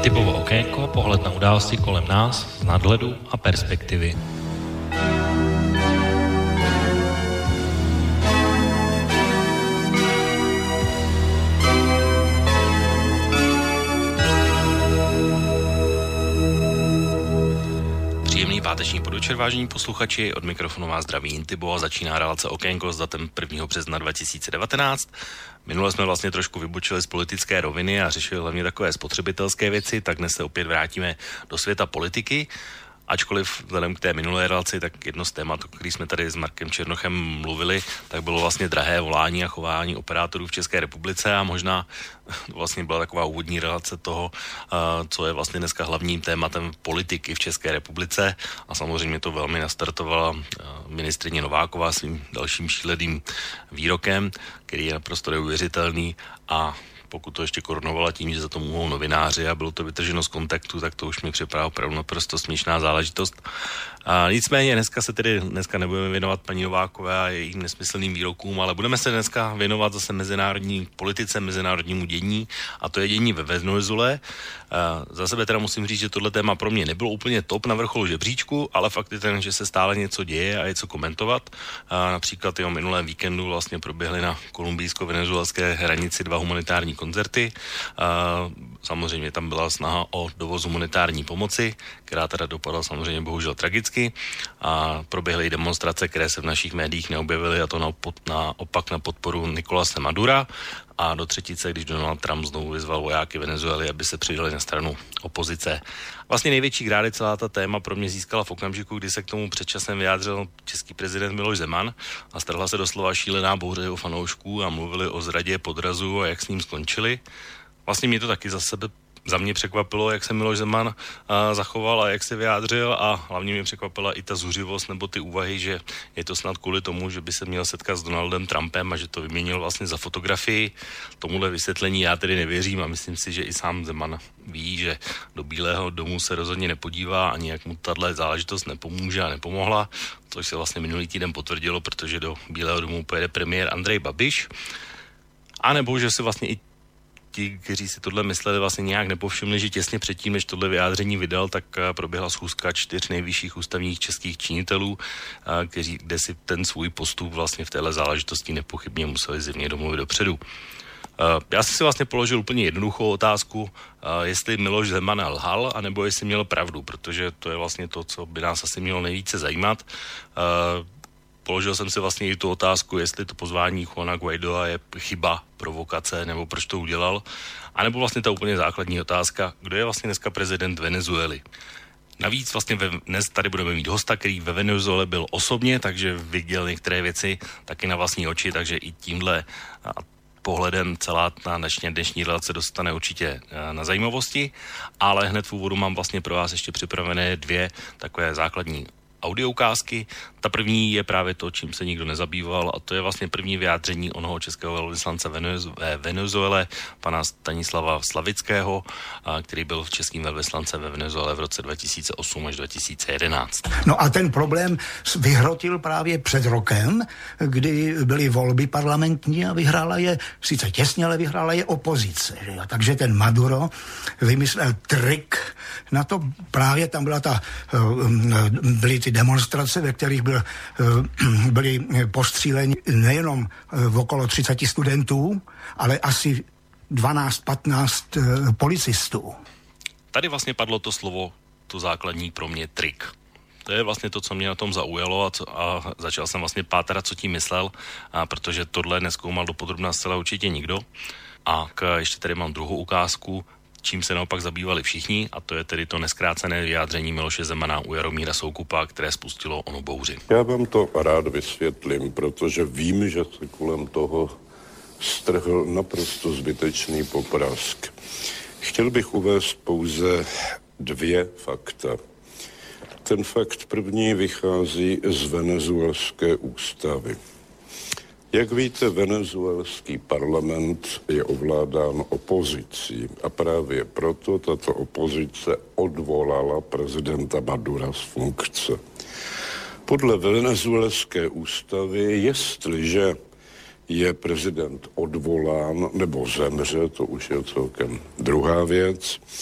Typovo okénko, pohled na události kolem nás, z nadhledu a perspektivy. Příjemný páteční podvečer, vážení posluchači, od mikrofonu vás zdraví Intibo a začíná relace Okénko s datem 1. března 2019. Minule jsme vlastně trošku vybočili z politické roviny a řešili hlavně takové spotřebitelské věci, tak dnes se opět vrátíme do světa politiky. Ačkoliv vzhledem k té minulé relaci, tak jedno z témat, o který jsme tady s Markem Černochem mluvili, tak bylo vlastně drahé volání a chování operátorů v České republice a možná vlastně byla taková úvodní relace toho, co je vlastně dneska hlavním tématem politiky v České republice a samozřejmě to velmi nastartovala ministryně Nováková svým dalším šíleným výrokem, který je naprosto neuvěřitelný a pokud to ještě korunovala tím, že za to mohou novináři a bylo to vytrženo z kontaktu, tak to už mi připadá opravdu naprosto směšná záležitost. Nicméně dneska nebudeme věnovat paní Novákové a jejím nesmyslným výrokům, ale budeme se dneska věnovat zase mezinárodní politice, mezinárodnímu dění a to je dění ve Venezuele. Za sebe teda musím říct, že tohle téma pro mě nebylo úplně top na vrcholu žebříčku, ale fakt je ten, že se stále něco děje a je co komentovat. Například o minulém víkendu vlastně proběhly na kolumbijsko-venezuelské hranici 2 humanitární koncerty. Samozřejmě tam byla snaha o dovoz humanitární pomoci, která teda dopadla samozřejmě bohužel tragicky a proběhly demonstrace, které se v našich médiích neobjevily a to naopak na podporu Nicolase Madura a do třetice, když Donald Trump znovu vyzval vojáky Venezuely, aby se přidali na stranu opozice. Vlastně největší grády celá ta téma pro mě získala v okamžiku, kdy se k tomu předčasem vyjádřil český prezident Miloš Zeman a strhla se doslova šílená bouře jeho fanoušků a mluvili o zradě, podrazu a jak s ním skončili. Vlastně mě to taky za mě překvapilo, jak se Miloš Zeman zachoval a jak se vyjádřil a hlavně mě překvapila i ta zuřivost nebo ty úvahy, že je to snad kvůli tomu, že by se měl setkat s Donaldem Trumpem a že to vyměnil vlastně za fotografii. Tomuhle vysvětlení já tedy nevěřím a myslím si, že i sám Zeman ví, že do Bílého domu se rozhodně nepodívá ani jak mu tahle záležitost nepomůže a nepomohla, což se vlastně minulý týden potvrdilo, protože do Bílého domu pojede premiér Andrej Babiš. A nebo že se vlastně i ti, kteří si tohle mysleli, vlastně nějak nepovšimli, že těsně předtím, než tohle vyjádření vydal, tak proběhla schůzka 4 nejvyšších ústavních českých činitelů, kde si ten svůj postup vlastně v téhle záležitosti nepochybně museli zjevně domluvit dopředu. Já jsem si vlastně položil úplně jednoduchou otázku, jestli Miloš Zeman lhal, anebo jestli měl pravdu, protože to je vlastně to, co by nás asi mělo nejvíce zajímat. Položil jsem si vlastně i tu otázku, jestli to pozvání Juana Guaidoa je chyba, provokace, nebo proč to udělal. A nebo vlastně ta úplně základní otázka, kdo je vlastně dneska prezident Venezuely. Navíc vlastně dnes tady budeme mít hosta, který ve Venezuele byl osobně, takže viděl některé věci taky na vlastní oči, takže i tímhle pohledem celá ta dnešní relace dostane určitě na zajímavosti, ale hned v úvodu mám vlastně pro vás ještě připravené 2 takové základní audioukázky. Ta první je právě to, čím se nikdo nezabýval a to je vlastně první vyjádření onoho českého velvyslance ve Venezuele, pana Stanislava Slavického, který byl českým velvyslancem ve Venezuele v roce 2008 až 2011. No a ten problém vyhrotil právě před rokem, kdy byly volby parlamentní a vyhrála je, sice těsně, ale vyhrála je opozice. Že? Takže ten Maduro vymyslel trik na to, právě tam byly ty demonstrace, ve kterých byli postříleni nejenom okolo 30 studentů, ale asi 12-15 policistů. Tady vlastně padlo to slovo, to základní pro mě trik. To je vlastně to, co mě na tom zaujalo a začal jsem vlastně pátrat, co tím myslel, protože tohle nezkoumal dopodrobna zcela určitě nikdo. A ještě tady mám druhou ukázku, čím se naopak zabývali všichni, a to je tedy to neskrácené vyjádření Miloše Zemana u Jaromíra Soukupa, které spustilo onu bouři. Já vám to rád vysvětlím, protože vím, že se kolem toho strhl naprosto zbytečný poprask. Chtěl bych uvést pouze 2 fakta. Ten fakt první vychází z venezuelské ústavy. Jak víte, venezuelský parlament je ovládán opozicí a právě proto tato opozice odvolala prezidenta Madura z funkce. Podle venezuelské ústavy, jestliže je prezident odvolán nebo zemře, to už je celkem druhá věc,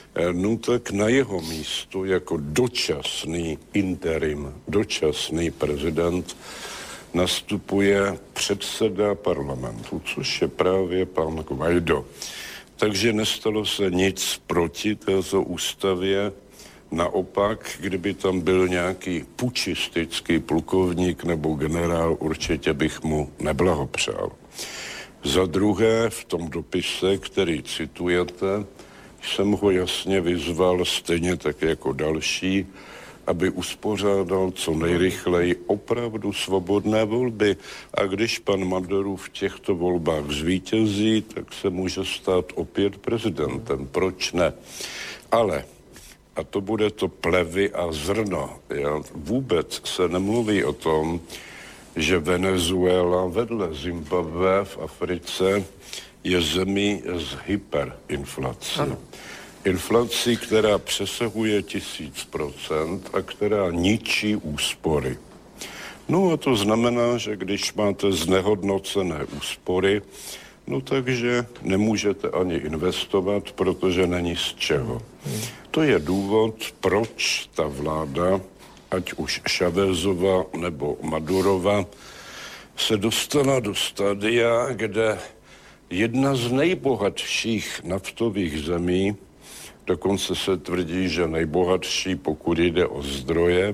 no tak na jeho místo jako dočasný interim, dočasný prezident nastupuje předseda parlamentu, což je právě pan Guaido. Takže nestalo se nic proti této ústavě. Naopak, kdyby tam byl nějaký pučistický plukovník nebo generál, určitě bych mu neblahopřál. Za druhé, v tom dopise, který citujete, jsem ho jasně vyzval, stejně tak jako další, aby uspořádal co nejrychleji opravdu svobodné volby. A když pan Maduro v těchto volbách zvítězí, tak se může stát opět prezidentem. Proč ne? Ale, a to bude to plevy a zrno, vůbec se nemluví o tom, že Venezuela vedle Zimbabwe v Africe je zemí s hyperinflací. Inflací, která přesahuje 1000% a která ničí úspory. No a to znamená, že když máte znehodnocené úspory, no takže nemůžete ani investovat, protože není z čeho. To je důvod, proč ta vláda, ať už Chávezova nebo Madurova, se dostala do stadia, kde jedna z nejbohatších naftových zemí, dokonce se tvrdí, že nejbohatší, pokud jde o zdroje,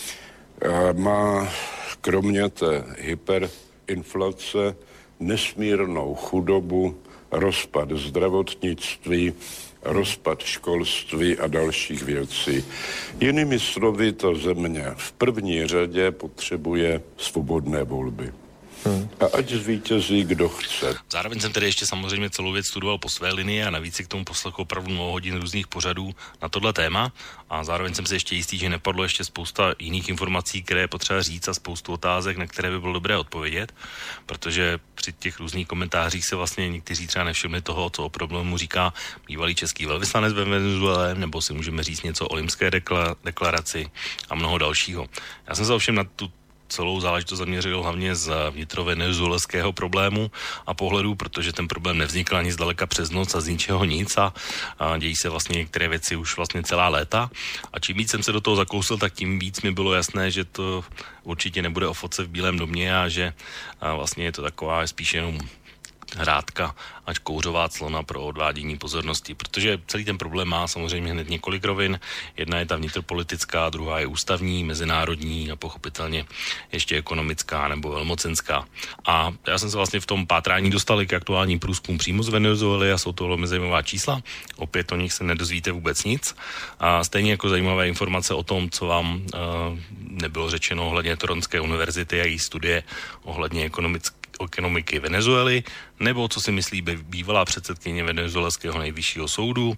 má kromě té hyperinflace nesmírnou chudobu, rozpad zdravotnictví, rozpad školství a dalších věcí. Jinými slovy, ta země v první řadě potřebuje svobodné volby. A ať zvítězí, kdo chce. Zároveň jsem tedy ještě samozřejmě celou věc studoval po své linii a navíc si k tomu poslechl opravdu mnoho hodin různých pořadů na tohle téma a zároveň jsem si ještě jistý, že nepadlo ještě spousta jiných informací, které je potřeba říct a spoustu otázek, na které by bylo dobré odpovědět, protože při těch různých komentářích se vlastně někteří třeba nevšimli toho, co o problému říká bývalý český velvyslanec ve Venezuele, nebo si můžeme říct něco o Limské deklaraci a mnoho dalšího. Já jsem se ovšem na tu celou záležitost zaměřil hlavně z vnitrovenezuelského problému a pohledu, protože ten problém nevznikl ani zdaleka přes noc a z ničeho nic a dějí se vlastně některé věci už vlastně celá léta. A čím víc jsem se do toho zakousl, tak tím víc mi bylo jasné, že to určitě nebude o fotce v Bílém domě a že vlastně je to taková spíš jenom hrádka, ať kouřová clona pro odvádění pozornosti, protože celý ten problém má samozřejmě hned několik rovin. Jedna je ta vnitropolitická, druhá je ústavní, mezinárodní a pochopitelně ještě ekonomická nebo velmocenská. A já jsem se vlastně v tom pátrání dostal k aktuálním průzkumům přímo z Venezuely a jsou to velmi zajímavá čísla. Opět o nich se nedozvíte vůbec nic. A stejně jako zajímavé informace o tom, co vám nebylo řečeno ohledně Toronské univerzity a její studie ohledně ekonomiky Venezuely, nebo co si myslí bývalá předsedkyně venezuelského nejvyššího soudu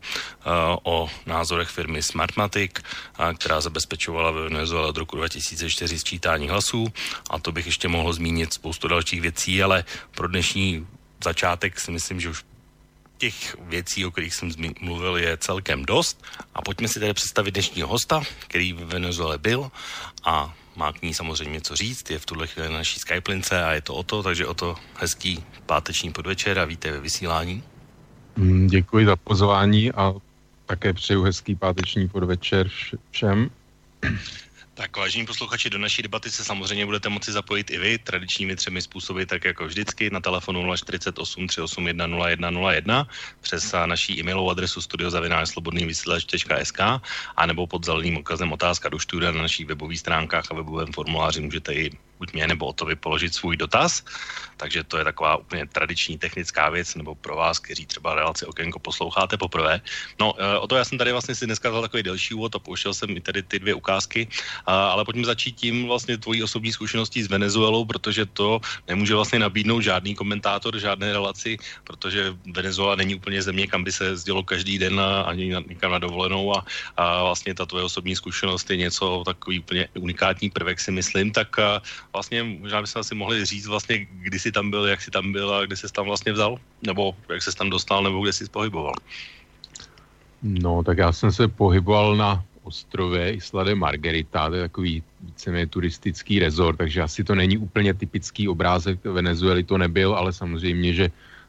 o názorech firmy Smartmatic, která zabezpečovala ve Venezuele od roku 2004 sčítání hlasů. A to bych ještě mohl zmínit spoustu dalších věcí, ale pro dnešní začátek si myslím, že už těch věcí, o kterých jsem mluvil, je celkem dost. A pojďme si tedy představit dnešního hosta, který ve Venezuele byl a má k ní samozřejmě co říct, je v tuhle chvíli na naší Skype-lince a je to Oto, takže Oto, hezký páteční podvečer a vítej ve vysílání. Děkuji za pozvání a také přeju hezký páteční podvečer všem. Tak vážení posluchači, do naší debaty se samozřejmě budete moci zapojit i vy tradičními 3 způsoby, tak jako vždycky na telefonu 048 381 0101 přes naší e-mailovou adresu studio@slobodnývysílač.sk a nebo pod zeleným odkazem otázka do studia na našich webových stránkách a webovém formuláři můžete i buď mě nebo Otovi položit svůj dotaz. Takže to je taková úplně tradiční technická věc, nebo pro vás, kteří třeba relaci Okénko posloucháte poprvé. No, Oto, já jsem tady vlastně si dneska dal takový delší úvod a pouštěl jsem i tady ty 2 ukázky, ale pojďme začít tím vlastně tvojí osobní zkušeností s Venezuelou, protože to nemůže vlastně nabídnout žádný komentátor, žádné relaci, protože Venezuela není úplně země, kam by se jezdilo každý den ani někam na dovolenou a vlastně ta tvoje osobní zkušenost je něco takový úplně unikátní prvek, si myslím, tak vlastně možná bychom asi mohli říct vlastně, kdy jsi tam byl, jak jsi tam byl a kde jsi tam vlastně vzal, nebo jak jsi tam dostal, nebo kde jsi pohyboval. No, tak já jsem se pohyboval na ostrově Isla de Margarita, to je takový víceméně turistický rezort, takže asi to není úplně typický obrázek Venezuely, to nebyl, ale samozřejmě, že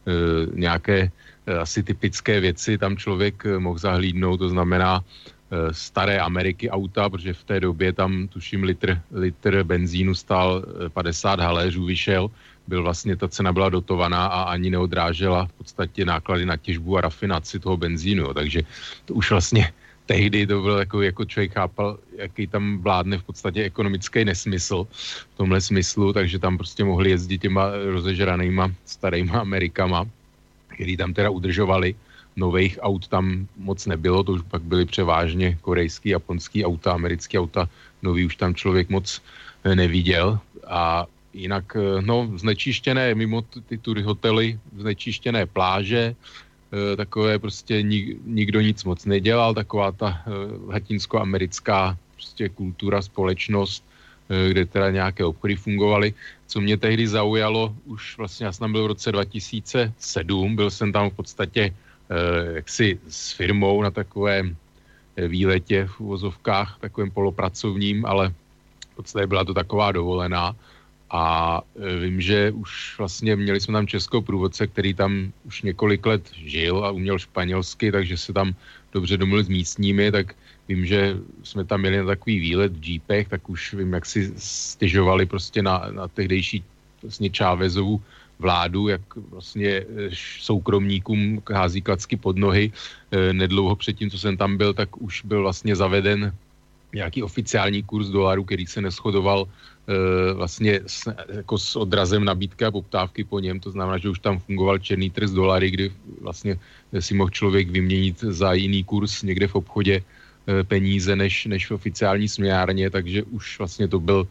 nějaké asi typické věci tam člověk mohl zahlídnout, to znamená staré Ameriky auta, protože v té době tam tuším litr benzínu stál 50 haléřů, vyšel, byl vlastně, ta cena byla dotovaná a ani neodrážela v podstatě náklady na těžbu a rafinaci toho benzínu, jo. Takže to už vlastně tehdy to bylo jako člověk chápal, jaký tam vládne v podstatě ekonomický nesmysl v tomhle smyslu, takže tam prostě mohli jezdit těma rozežranýma starýma Amerikama, který tam teda udržovali. Nových aut tam moc nebylo, to už pak byly převážně korejský, japonský auta, americký auta, nový už tam člověk moc neviděl. A jinak, no, znečištěné, mimo ty hotely, znečištěné pláže, takové prostě nikdo nic moc nedělal, taková ta latinskoamerická prostě kultura, společnost, kde teda nějaké obchody fungovaly. Co mě tehdy zaujalo, už vlastně já jsem tam byl v roce 2007, byl jsem tam v podstatě jaksi s firmou na takovém výletě v uvozovkách, takovém polopracovním, ale v podstatě byla to taková dovolená. A vím, že už vlastně měli jsme tam českého průvodce, který tam už několik let žil a uměl španělsky, takže se tam dobře domluvil s místními, tak vím, že jsme tam měli na takový výlet v džípech, tak už vím, jak si stěžovali prostě na tehdejší vlastně Chávezovu vládu, jak vlastně soukromníkům hází klacky pod nohy. Nedlouho předtím, co jsem tam byl, tak už byl vlastně zaveden nějaký oficiální kurz dolaru, který se neshodoval vlastně jako s odrazem nabídky a poptávky po něm. To znamená, že už tam fungoval černý trh s dolary, kdy vlastně si mohl člověk vyměnit za jiný kurz někde v obchodě peníze než v oficiální směnárně, takže už vlastně to byl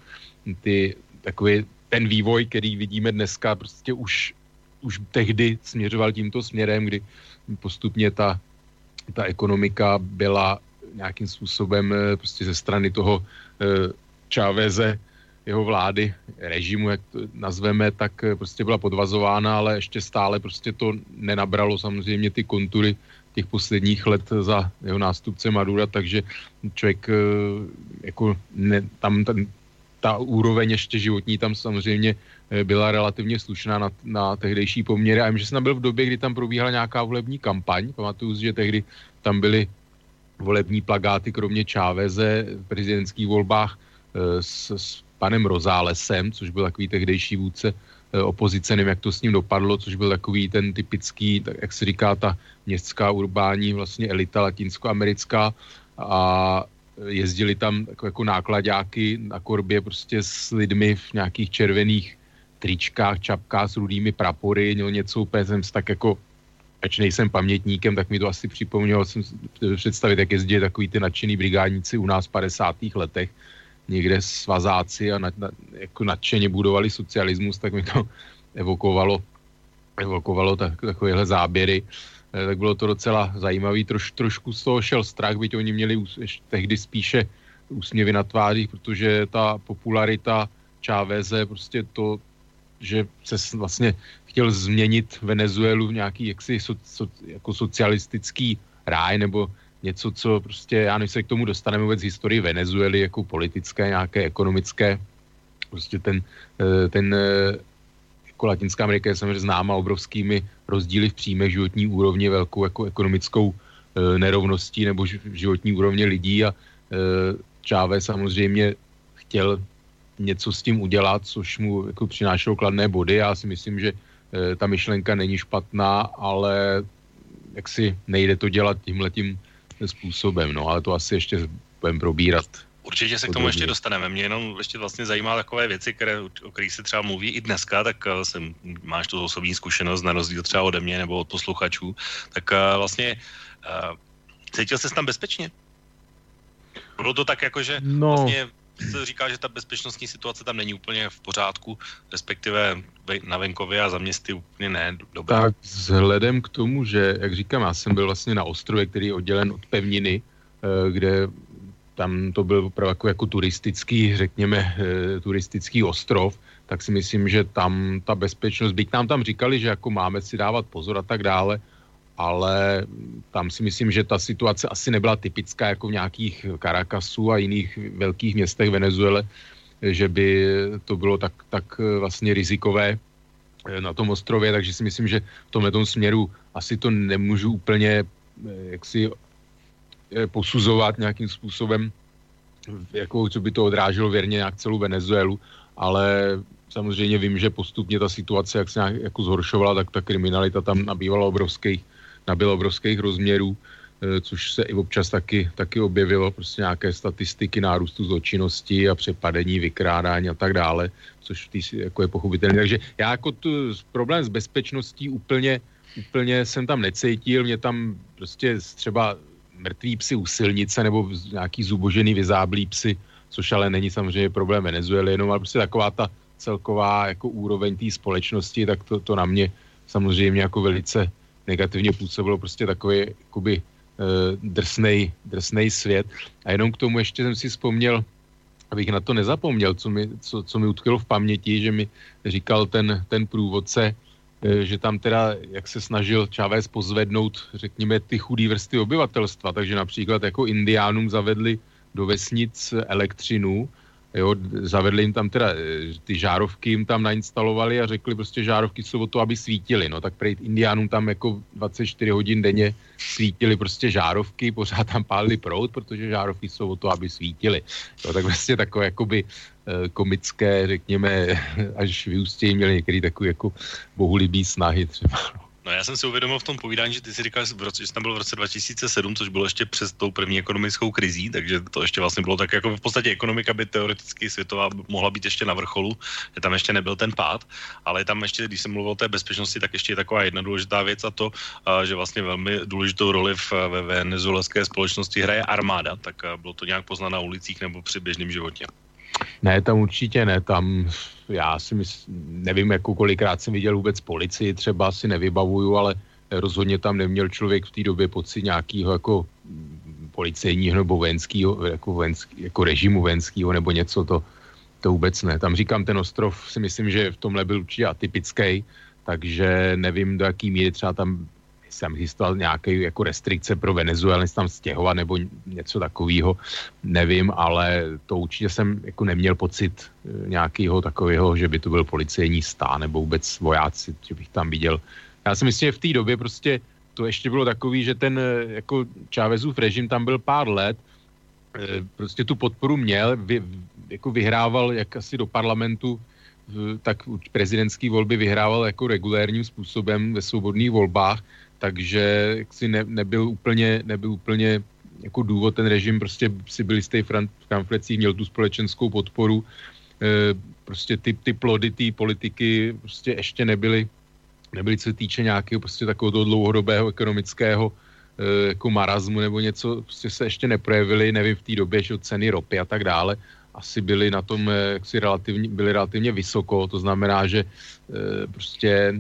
takový ten vývoj, který vidíme dneska, prostě už tehdy směřoval tímto směrem, kdy postupně ta ekonomika byla nějakým způsobem prostě ze strany toho Cháveze, jeho vlády, režimu, jak to nazveme, tak prostě byla podvazována, ale ještě stále prostě to nenabralo samozřejmě ty kontury těch posledních let za jeho nástupce Madura, takže člověk jako ta úroveň ještě životní tam samozřejmě byla relativně slušná na tehdejší poměry. A vím, že jsem tam byl v době, kdy tam probíhala nějaká volební kampaň. Pamatuju si, že tehdy tam byly volební plakáty, kromě Cháveze v prezidentských volbách s panem Rosálesem, což byl takový tehdejší vůdce opozice, nevím, jak to s ním dopadlo, což byl takový ten typický, tak jak se říká, ta městská urbání vlastně elita latinskoamerická a jezdili tam jako nákladáky na korbě prostě s lidmi v nějakých červených tričkách, čapkách s rudými prapory, měl něco úplně, jsem tak jako, ač nejsem pamětníkem, tak mi to asi připomnělo, jsem představit, jak jezdí takový ty nadšený brigádníci u nás v 50. letech, někde svazáci a jako nadšeně budovali socialismus, tak mi to evokovalo takovéhle záběry. Tak bylo to docela zajímavý. Trošku z toho šel strach, byť oni měli tehdy spíše úsměvy na tvářích, protože ta popularita Cháveze, prostě to, že se vlastně chtěl změnit Venezuelu v nějaký jako socialistický ráj, nebo něco, co prostě, já než se k tomu dostaneme vůbec historii Venezuely, jako politické, nějaké ekonomické, prostě ten jako Latinská Amerika je samozřejmě známa obrovskými rozdíly v příjmech, životní úrovně, velkou jako ekonomickou nerovností nebo životní úrovně lidí a Chávez samozřejmě chtěl něco s tím udělat, což mu jako přinášelo kladné body. Já si myslím, že ta myšlenka není špatná, ale jaksi nejde to dělat tímhletím způsobem, no, ale to asi ještě budeme probírat. Určitě se k tomu ještě dostaneme. Mě jenom ještě vlastně zajímá takové věci, o kterých se třeba mluví i dneska, tak máš tu osobní zkušenost na rozdíl třeba ode mě nebo od posluchačů, tak vlastně cítil ses tam bezpečně? Bylo to tak jako, že vlastně se říká, že ta bezpečnostní situace tam není úplně v pořádku, respektive na venkově a za městy úplně ne dobrá. Tak vzhledem k tomu, že, jak říkám, já jsem byl vlastně na ostrově, který je oddělen od pevniny, kde tam to byl opravdu jako turistický, řekněme, turistický ostrov, tak si myslím, že tam ta bezpečnost, byť nám tam říkali, že jako máme si dávat pozor a tak dále, ale tam si myslím, že ta situace asi nebyla typická jako v nějakých Caracasu a jiných velkých městech Venezuele, že by to bylo tak vlastně rizikové na tom ostrově, takže si myslím, že v tomhletom směru asi to nemůžu úplně jaksi posuzovat nějakým způsobem, jako co by to odráželo věrně nějak celou Venezuelu, ale samozřejmě vím, že postupně ta situace, jak se nějak jako zhoršovala, tak ta kriminalita tam nabyla obrovských rozměrů, což se i občas taky objevilo, prostě nějaké statistiky nárůstu zločinnosti a přepadení, vykrádání a tak dále, což jako je pochopitelné. Takže já jako problém s bezpečností úplně jsem tam necítil, mě tam prostě třeba mrtví psy u silnice nebo nějaký zubožený vyzáblý psy, což ale není samozřejmě problém Venezuely, jenom ale prostě taková ta celková jako úroveň té společnosti, tak to na mě samozřejmě jako velice negativně působilo, prostě takový jakoby drsnej svět. A jenom k tomu ještě jsem si vzpomněl, abych na to nezapomněl, co mi utkvělo v paměti, že mi říkal ten průvodce, že tam teda, jak se snažil Chávez pozvednout, řekněme, ty chudý vrstvy obyvatelstva, takže například jako indiánům zavedli do vesnic elektřinu, jo, zavedli jim tam teda, ty žárovky jim tam nainstalovali a řekli prostě žárovky jsou o to, aby svítily, no tak prej indiánům tam jako 24 hodin denně svítily prostě žárovky, pořád tam pálili proud, protože žárovky jsou o to, aby svítily. Jo, tak vlastně takové jakoby komické, řekněme, až vyústějí měli některý takový jako bohulibý snahy třeba. No já jsem si uvědomil v tom povídání, že ty si říkal, že jsi tam byl v roce 2007, což bylo ještě přes tou první ekonomickou krizí, takže to ještě vlastně bylo tak, jako v podstatě ekonomika by teoreticky světová mohla být ještě na vrcholu, že tam ještě nebyl ten pád, ale tam ještě, když jsem mluvil o té bezpečnosti, tak ještě je taková jedna důležitá věc a to, že vlastně velmi důležitou roli ve venezuelské společnosti hraje armáda, tak bylo to nějak poznat na ulicích nebo při běžném životě. Ne, tam určitě ne, tam já si nevím, jako kolikrát jsem viděl vůbec policii, třeba si nevybavuju, ale rozhodně tam neměl člověk v té době pocit nějakého jako policejního nebo vojenského, jako režimu vojenského nebo něco, to vůbec ne. Tam říkám, ten ostrov si myslím, že v tomhle byl určitě atypický, takže nevím, do jaký míry třeba tam jsem existoval nějaké jako restrikce pro Venezuelu, tam stěhovat nebo něco takového, nevím, ale to určitě jsem jako neměl pocit nějakého takového, že by to byl policejní stát nebo vůbec vojáci, že bych tam viděl. Já si myslím, že v té době prostě to ještě bylo takový, že ten jako Chávezův režim tam byl pár let, prostě tu podporu měl, jako vyhrával jak asi do parlamentu, tak prezidentský volby vyhrával jako regulérním způsobem ve svobodných volbách, takže si nebyl úplně jako důvod, ten režim prostě si byl jistý v pamflecích, měl tu společenskou podporu, prostě ty plody té politiky prostě ještě nebyly, co se týče nějakého prostě takového dlouhodobého ekonomického jako marazmu nebo něco, prostě se ještě neprojevily, nevím v té době, že ceny ropy a tak dále, asi byly na tom jaksi relativně vysoko, to znamená, že prostě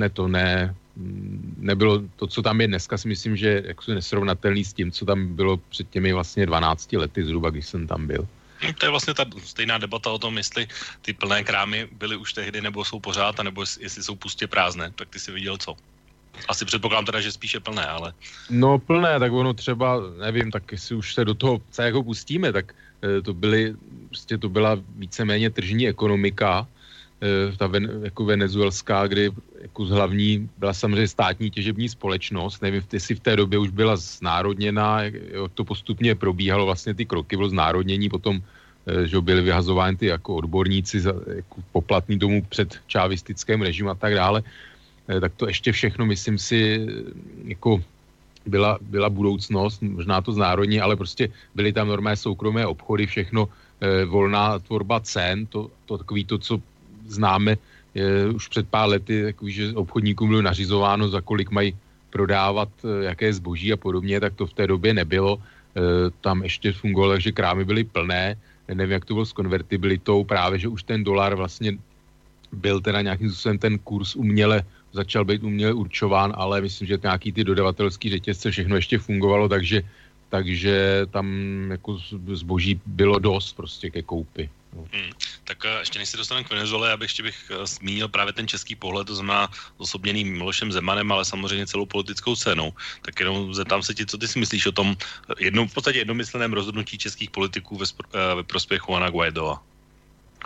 nebylo to, co tam je dneska, si myslím, že jako nesrovnatelný s tím, co tam bylo před těmi vlastně 12 lety zhruba, když jsem tam byl. To je vlastně ta stejná debata o tom, jestli ty plné krámy byly už tehdy, nebo jsou pořád, nebo jestli jsou pustě prázdné. Tak ty si viděl co? Asi předpokládám teda, že spíše plné, ale... No plné, tak ono třeba, nevím, tak jestli už se do toho jako pustíme, tak to byla víceméně tržní ekonomika, ta jako venezuelská, kdy jako hlavní byla samozřejmě státní těžební společnost, nevím, jestli v té době už byla znárodněná, jak to postupně probíhalo, vlastně ty kroky bylo znárodnění, potom, že byly vyhazovány ty jako odborníci jako poplatný domů před čávistickým režimu a tak dále, tak to ještě všechno, myslím si, jako byla budoucnost, možná to znárodní, ale prostě byly tam normální soukromé obchody, všechno, volná tvorba cen, to takový to, co známe už před pár lety, takový, že obchodníkům bylo nařizováno, za kolik mají prodávat jaké zboží a podobně, tak to v té době nebylo. Tam ještě fungovalo, takže krámy byly plné, nevím, jak to bylo s konvertibilitou, právě, že už ten dolar vlastně byl teda nějakým způsobem ten kurz začal být uměle určován, ale myslím, že nějaký ty dodavatelský řetězce všechno ještě fungovalo, takže tam jako zboží bylo dost prostě ke koupi. Tak ještě než se dostaneme k Venezuele, já bych zmínil právě ten český pohled, to znamená osobněný Milošem Zemanem, ale samozřejmě celou politickou scénou. Tak jenom zeptám se ti, co ty si myslíš o tom v podstatě jednomyslném rozhodnutí českých politiků ve prospěch Juana Guaidova?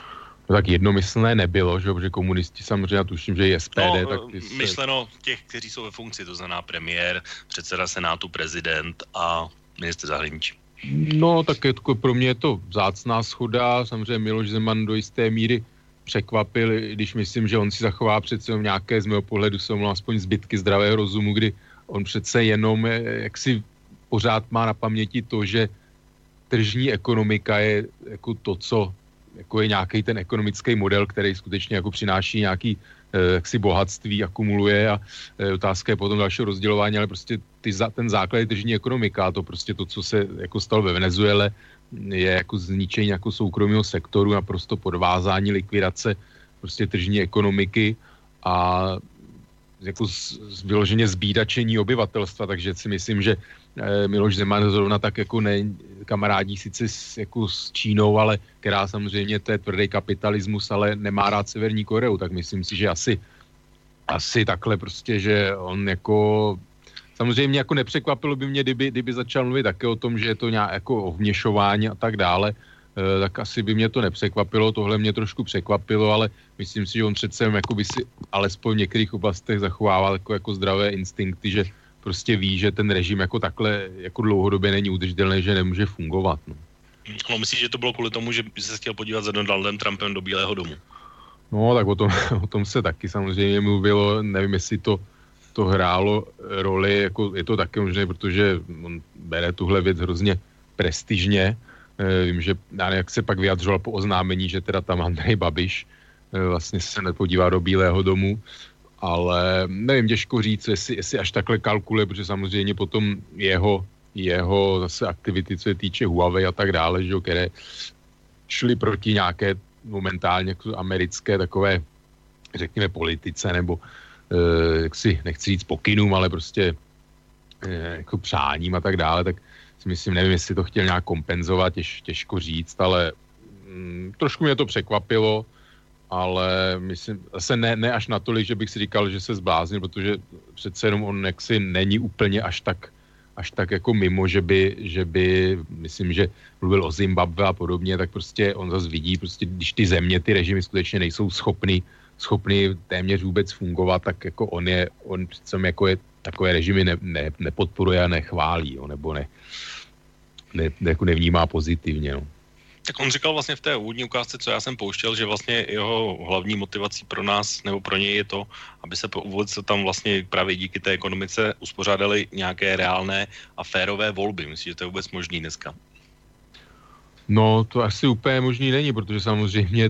No tak jednomyslné nebylo, že? Protože komunisti samozřejmě, tuším, že i SPD. Tak myšleno těch, kteří jsou ve funkci, to znamená premiér, předseda senátu, prezident a ministr zahraničí. No, tak pro mě je to vzácná shoda. Samozřejmě Miloš Zeman do jisté míry překvapil, když myslím, že on si zachová přece nějaké, z mého pohledu jsou aspoň zbytky zdravého rozumu, kdy on přece jenom jaksi pořád má na paměti to, že tržní ekonomika je jako to, co jako je nějaký ten ekonomický model, který skutečně jako přináší nějaký jaksi bohatství, akumuluje a otázka je potom dalšího rozdělování, ale prostě ten základ je tržní ekonomika a to prostě to, co se jako stalo ve Venezuele, je jako zničení jako soukromého sektoru, naprosto podvázání, likvidace prostě tržní ekonomiky a jako vyloženě zbídačení obyvatelstva, takže si myslím, že Miloš Zeman zrovna tak jako kamarádí sice jako s Čínou, ale která samozřejmě to je tvrdý kapitalismus, ale nemá rád Severní Koreu, tak myslím si, že asi takhle prostě, že on jako samozřejmě jako nepřekvapilo by mě, kdyby začal mluvit také o tom, že je to nějak jako o vměšování a tak dále, tak asi by mě to nepřekvapilo, tohle mě trošku překvapilo, ale myslím si, že on přece jako by si alespoň v některých oblastech zachovával jako zdravé instinkty, že prostě ví, že ten režim jako takhle jako dlouhodobě není udržitelný, že nemůže fungovat. No. No, myslíš, že to bylo kvůli tomu, že by se chtěl podívat za Donaldem Trumpem do Bílého domu? No, tak o tom se taky samozřejmě mluvilo, nevím, jestli to hrálo roli, jako je to taky možné, protože on bere tuhle věc hrozně prestižně. Vím, že jak se pak vyjadřoval po oznámení, že teda tam Andrej Babiš vlastně se nepodívá do Bílého domu, ale nevím, těžko říct, jestli až takhle kalkuluje, protože samozřejmě potom jeho zase aktivity, co se týče Huawei a tak dále, že, které šly proti nějaké momentálně americké takové, řekněme, politice, nebo jaksi nechci říct pokynům, ale prostě jako přáním a tak dále, tak si myslím, nevím, jestli to chtěl nějak kompenzovat, těžko říct, ale trošku mě to překvapilo, ale myslím, zase ne až natolik, že bych si říkal, že se zbláznil, protože přece jenom on jaksi není úplně až tak jako mimo, že by myslím, že mluvil o Zimbabwe a podobně, tak prostě on zase vidí, prostě když ty země, ty režimy skutečně nejsou schopny téměř vůbec fungovat, tak jako on přece jako je takové režimy nepodporuje a nechválí, jo, nebo jako nevnímá pozitivně. No. Tak on říkal vlastně v té úvodní ukázce, co já jsem pouštěl, že vlastně jeho hlavní motivací pro nás nebo pro něj je to, aby se tam vlastně právě díky té ekonomice uspořádaly nějaké reálné a férové volby. Myslím, že to je vůbec možný dneska. No, to asi úplně možný není, protože samozřejmě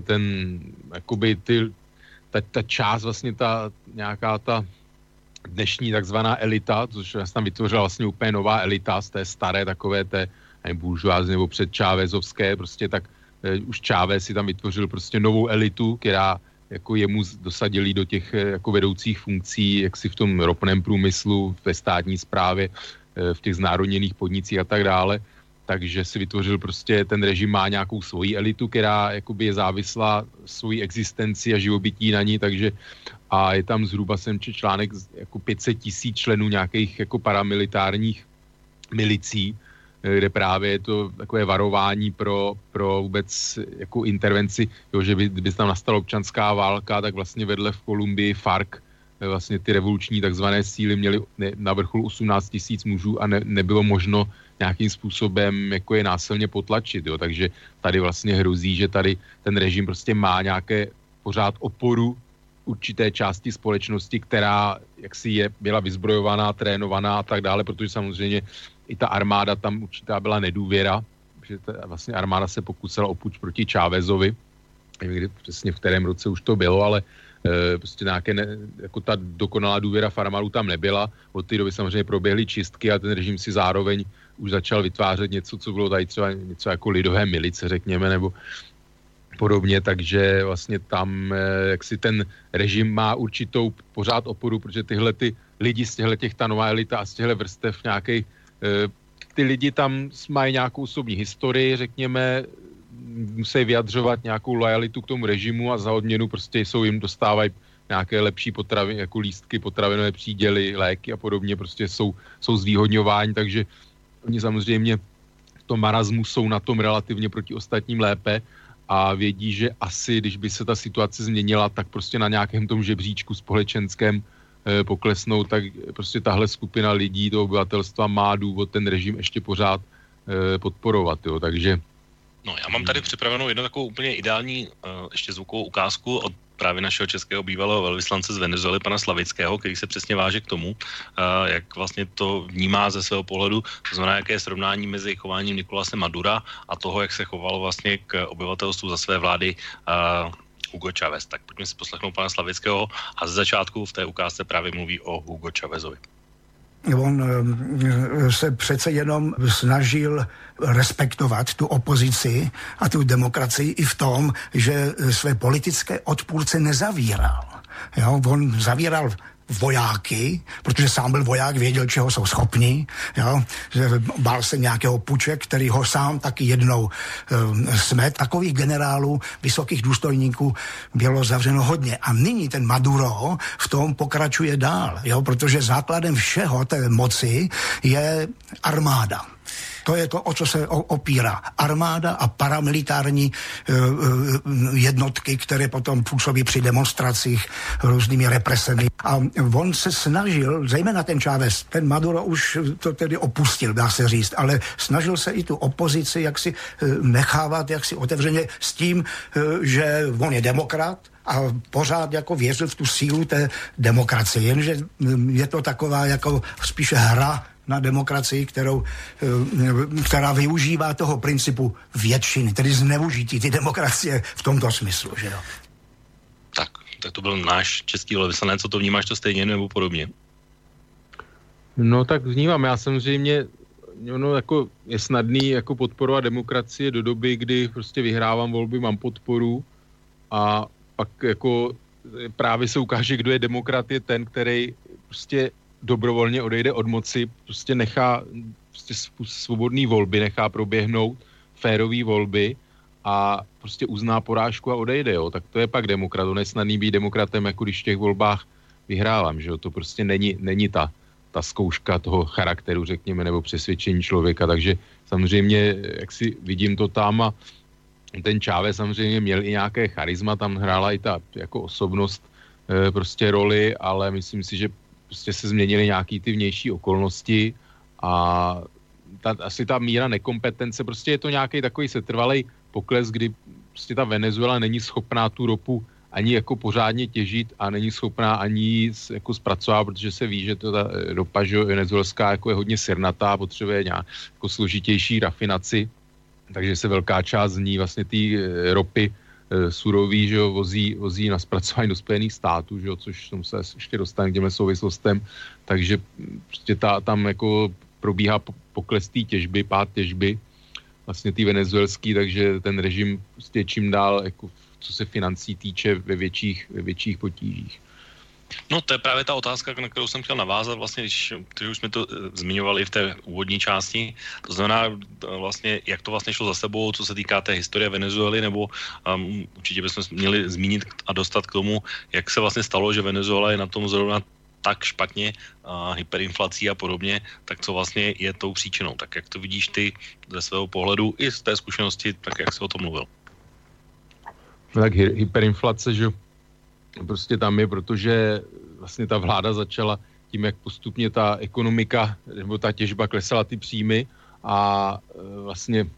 ta část vlastně nějaká ta dnešní takzvaná elita, což tam vytvořila vlastně úplně nová elita z té staré takové té buržoázní nebo předčávezovské, prostě tak už Chávez si tam vytvořil prostě novou elitu, která jako jemu dosadili do těch jako vedoucích funkcí, jak si v tom ropném průmyslu, ve státní správě, v těch znárodněných podnicích a tak dále. Takže si vytvořil prostě, ten režim má nějakou svoji elitu, která jakoby je závislá svojí existenci a živobytí na ní, takže a je tam zhruba článek jako 500 000 členů nějakých jako paramilitárních milicí, kde právě je to takové varování pro vůbec jako intervenci, jo, že by tam nastala občanská válka, tak vlastně vedle v Kolumbii FARC vlastně ty revoluční takzvané síly měly na vrcholu 18 000 mužů a nebylo možno nějakým způsobem jako je násilně potlačit, jo, takže tady vlastně hrozí, že tady ten režim prostě má nějaké pořád oporu určité části společnosti, která jaksi byla vyzbrojovaná, trénovaná a tak dále, protože samozřejmě i ta armáda tam určitá byla nedůvěra, že vlastně armáda se pokusila o puč proti Chávezovi, nevím, přesně v kterém roce už to bylo, ale prostě nějaké jako ta dokonalá důvěra v armádu tam nebyla. Od té doby samozřejmě proběhly čistky a ten režim si zároveň už začal vytvářet něco, co bylo tady třeba něco jako lidové milice, řekněme, nebo podobně, takže vlastně tam jaksi ten režim má určitou pořád oporu, protože tyhle ty lidi z těch ta nová elita a z těchto vrstev nějakých ty lidi tam mají nějakou osobní historii, řekněme, musí vyjadřovat nějakou lojalitu k tomu režimu a za odměnu prostě jim dostávají nějaké lepší potraviny, jako lístky, potravinové příděly, léky a podobně, prostě jsou zvýhodňováni, takže oni samozřejmě v tom marazmu jsou na tom relativně proti ostatním lépe a vědí, že asi, když by se ta situace změnila, tak prostě na nějakém tom žebříčku společenském poklesnou, tak prostě tahle skupina lidí, toho obyvatelstva má důvod ten režim ještě pořád podporovat, jo, takže... No, já mám tady připravenou jednu takovou úplně ideální ještě zvukovou ukázku od právě našeho českého bývalého velvyslance z Venezuely, pana Slavického, který se přesně váže k tomu, jak vlastně to vnímá ze svého pohledu, to znamená, jaké je srovnání mezi chováním Nicolase Madura a toho, jak se chovalo vlastně k obyvatelstvu za své vlády Hugo Chávez. Tak pojďme si poslechnout pana Slavického a ze začátku v té ukázce právě mluví o Hugo Chávezovi. On se přece jenom snažil respektovat tu opozici a tu demokracii i v tom, že své politické odpůrce nezavíral. Jo, on zavíral vojáky, protože sám byl voják, věděl, čeho jsou schopni, jo, že bál se nějakého puče, který ho sám taky jednou smet. Takových generálů, vysokých důstojníků bylo zavřeno hodně. A nyní ten Maduro v tom pokračuje dál, jo, protože základem všeho té moci je armáda. To je to, o co se opírá. Armáda a paramilitární jednotky, které potom působí při demonstracích různými represemi. A on se snažil, zejména ten Chávez, ten Maduro už to tedy opustil, dá se říct, ale snažil se i tu opozici jaksi nechávat jaksi otevřeně s tím, že on je demokrat, a pořád jako věřil v tu sílu té demokracie. Jenže je to taková jako spíše hra na demokracii, která využívá toho principu většiny, tedy zneužití ty demokracie v tomto smyslu, že jo? Tak to byl náš český velvyslanec, co to vnímáš to stejně nebo podobně? No tak vnímám, já samozřejmě, jako je snadný jako podporovat demokracie do doby, kdy prostě vyhrávám volby, mám podporu a pak jako právě se ukáže, kdo je demokrat, je ten, který prostě dobrovolně odejde od moci, prostě nechá prostě svobodný volby, nechá proběhnout férový volby a prostě uzná porážku a odejde, jo. Tak to je pak demokrat. On je snadný být demokratem, jako když v těch volbách vyhrávám, že jo. To prostě není ta zkouška toho charakteru, řekněme, nebo přesvědčení člověka, takže samozřejmě, jak si vidím to tam a ten Chávez samozřejmě měl i nějaké charisma, tam hrála i ta jako osobnost prostě roli, ale myslím si, že prostě se změnily nějaký ty vnější okolnosti a asi ta míra nekompetence, prostě je to nějaký takový setrvalej pokles, kdy prostě ta Venezuela není schopná tu ropu ani jako pořádně těžit a není schopná ani jako zpracovat, protože se ví, že to ta ropa venezuelská jako je hodně sirnatá, potřebuje nějak jako složitější rafinaci, takže se velká část z ní vlastně té ropy surový, že jo, vozí na zpracování do Spojených států, že jo, což tomu se ještě dostane k těmhle souvislostem, takže prostě tam jako probíhá pokles té těžby, pád těžby, vlastně té venezuelský, takže ten režim prostě čím dál, jako co se financí týče, ve větších potížích. No to je právě ta otázka, na kterou jsem chtěl navázat, vlastně, když už jsme to zmiňovali v té úvodní části, to znamená vlastně, jak to vlastně šlo za sebou, co se týká té historie Venezuely, nebo určitě bychom měli zmínit a dostat k tomu, jak se vlastně stalo, že Venezuela je na tom zrovna tak špatně, hyperinflací a podobně, tak co vlastně je tou příčinou. Tak jak to vidíš ty ze svého pohledu i z té zkušenosti, tak jak jsi o tom mluvil? No tak hyperinflace, že prostě tam je, protože vlastně ta vláda začala tím, jak postupně ta ekonomika nebo ta těžba klesala ty příjmy a vlastně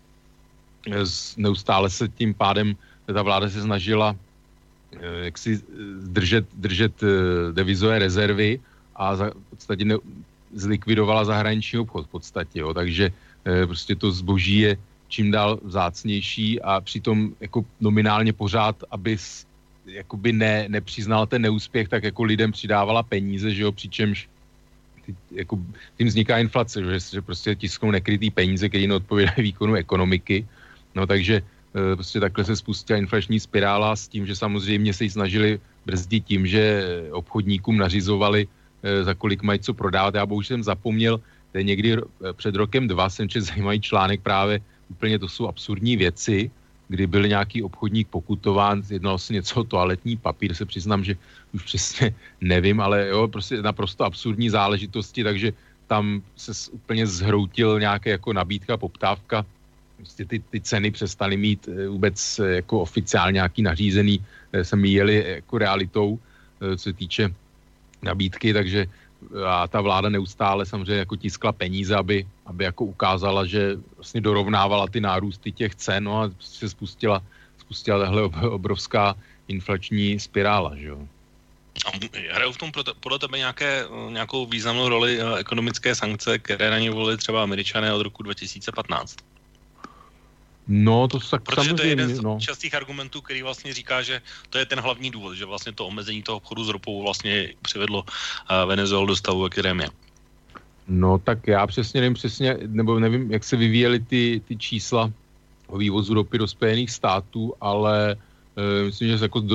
neustále se tím pádem ta vláda se snažila jak si držet devizové rezervy a v podstatě zlikvidovala zahraniční obchod v podstatě, jo. Takže prostě to zboží je čím dál vzácnější a přitom jako nominálně pořád, aby jakoby nepřiznal ten neúspěch, tak jako lidem přidávala peníze, že jo, přičemž jako tím vzniká inflace, že prostě tisknou nekrytý peníze, které neodpovídají výkonu ekonomiky, no takže prostě takhle se spustila inflační spirála s tím, že samozřejmě se ji snažili brzdit tím, že obchodníkům nařizovali, za kolik mají co prodávat. Já bohužel jsem zapomněl, to je někdy před rokem 2 jsem četl zajímavý článek právě, úplně to jsou absurdní věci, kdy byl nějaký obchodník pokutován, jednalo se něco o toaletní papír, se přiznám, že už přesně nevím, ale jo, prostě naprosto absurdní záležitosti, takže tam se úplně zhroutil nějaké jako nabídka, poptávka prostě ty ceny přestaly mít vůbec jako oficiálně nějaký nařízený, se míjely jako realitou, co se týče nabídky, takže a ta vláda neustále samozřejmě jako tiskla peníze, aby jako ukázala, že vlastně dorovnávala ty nárůsty těch cen, no a se spustila tahle obrovská inflační spirála, že jo. A hrajou v tom podle tebe nějakou významnou roli ekonomické sankce, které na ně volili třeba Američané od roku 2015? No, to tak protože samozřejmě, to je jeden z častých argumentů, který vlastně říká, že to je ten hlavní důvod, že vlastně to omezení toho obchodu s ropou vlastně přivedlo Venezuelu do stavu, ve kterém je. No, tak já nevím, nebo nevím, jak se vyvíjely ty čísla o vývozu ropy do Spojených států, ale myslím, že jako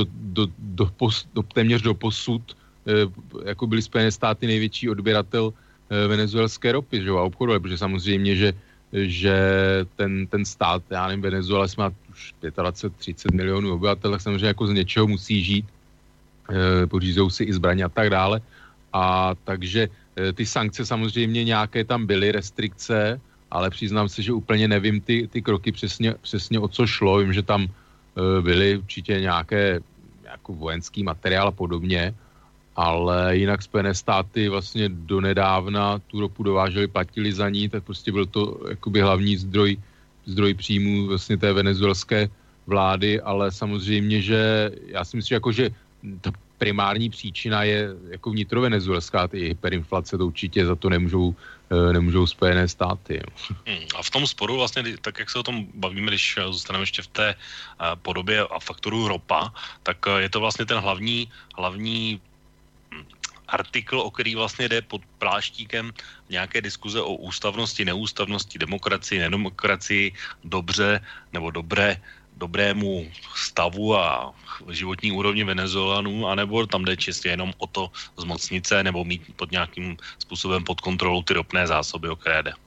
téměř do posud jako byly Spojené státy největší odběratel venezuelské ropy, že jo, a obchodu, protože samozřejmě, že ten stát, já nevím, Venezuela má už 25-30 milionů obyvatel, tak samozřejmě jako z něčeho musí žít, pořízou si i zbraně a tak dále. A takže ty sankce samozřejmě nějaké tam byly, restrikce, ale přiznám se, že úplně nevím ty kroky přesně o co šlo. Vím, že tam byly určitě nějaký vojenský materiál a podobně, ale jinak Spojené státy vlastně donedávna tu ropu dováželi, platili za ní, tak prostě byl to jakoby hlavní zdroj příjmů vlastně té venezuelské vlády, ale samozřejmě, že já si myslím, že ta primární příčina je jako vnitrovenezuelská, ty hyperinflace, to určitě za to nemůžou Spojené státy. A v tom sporu vlastně, tak jak se o tom bavíme, když zůstaneme ještě v té podobě a faktoru ropa, tak je to vlastně ten hlavní artikl, o který vlastně jde pod pláštíkem nějaké diskuze o ústavnosti, neústavnosti, demokracii, nedemokracii, dobře nebo dobrému stavu a životní úrovni Venezuelanů, anebo tam jde čistě jenom o to zmocnit se nebo mít pod nějakým způsobem pod kontrolou ty ropné zásoby, o které jde.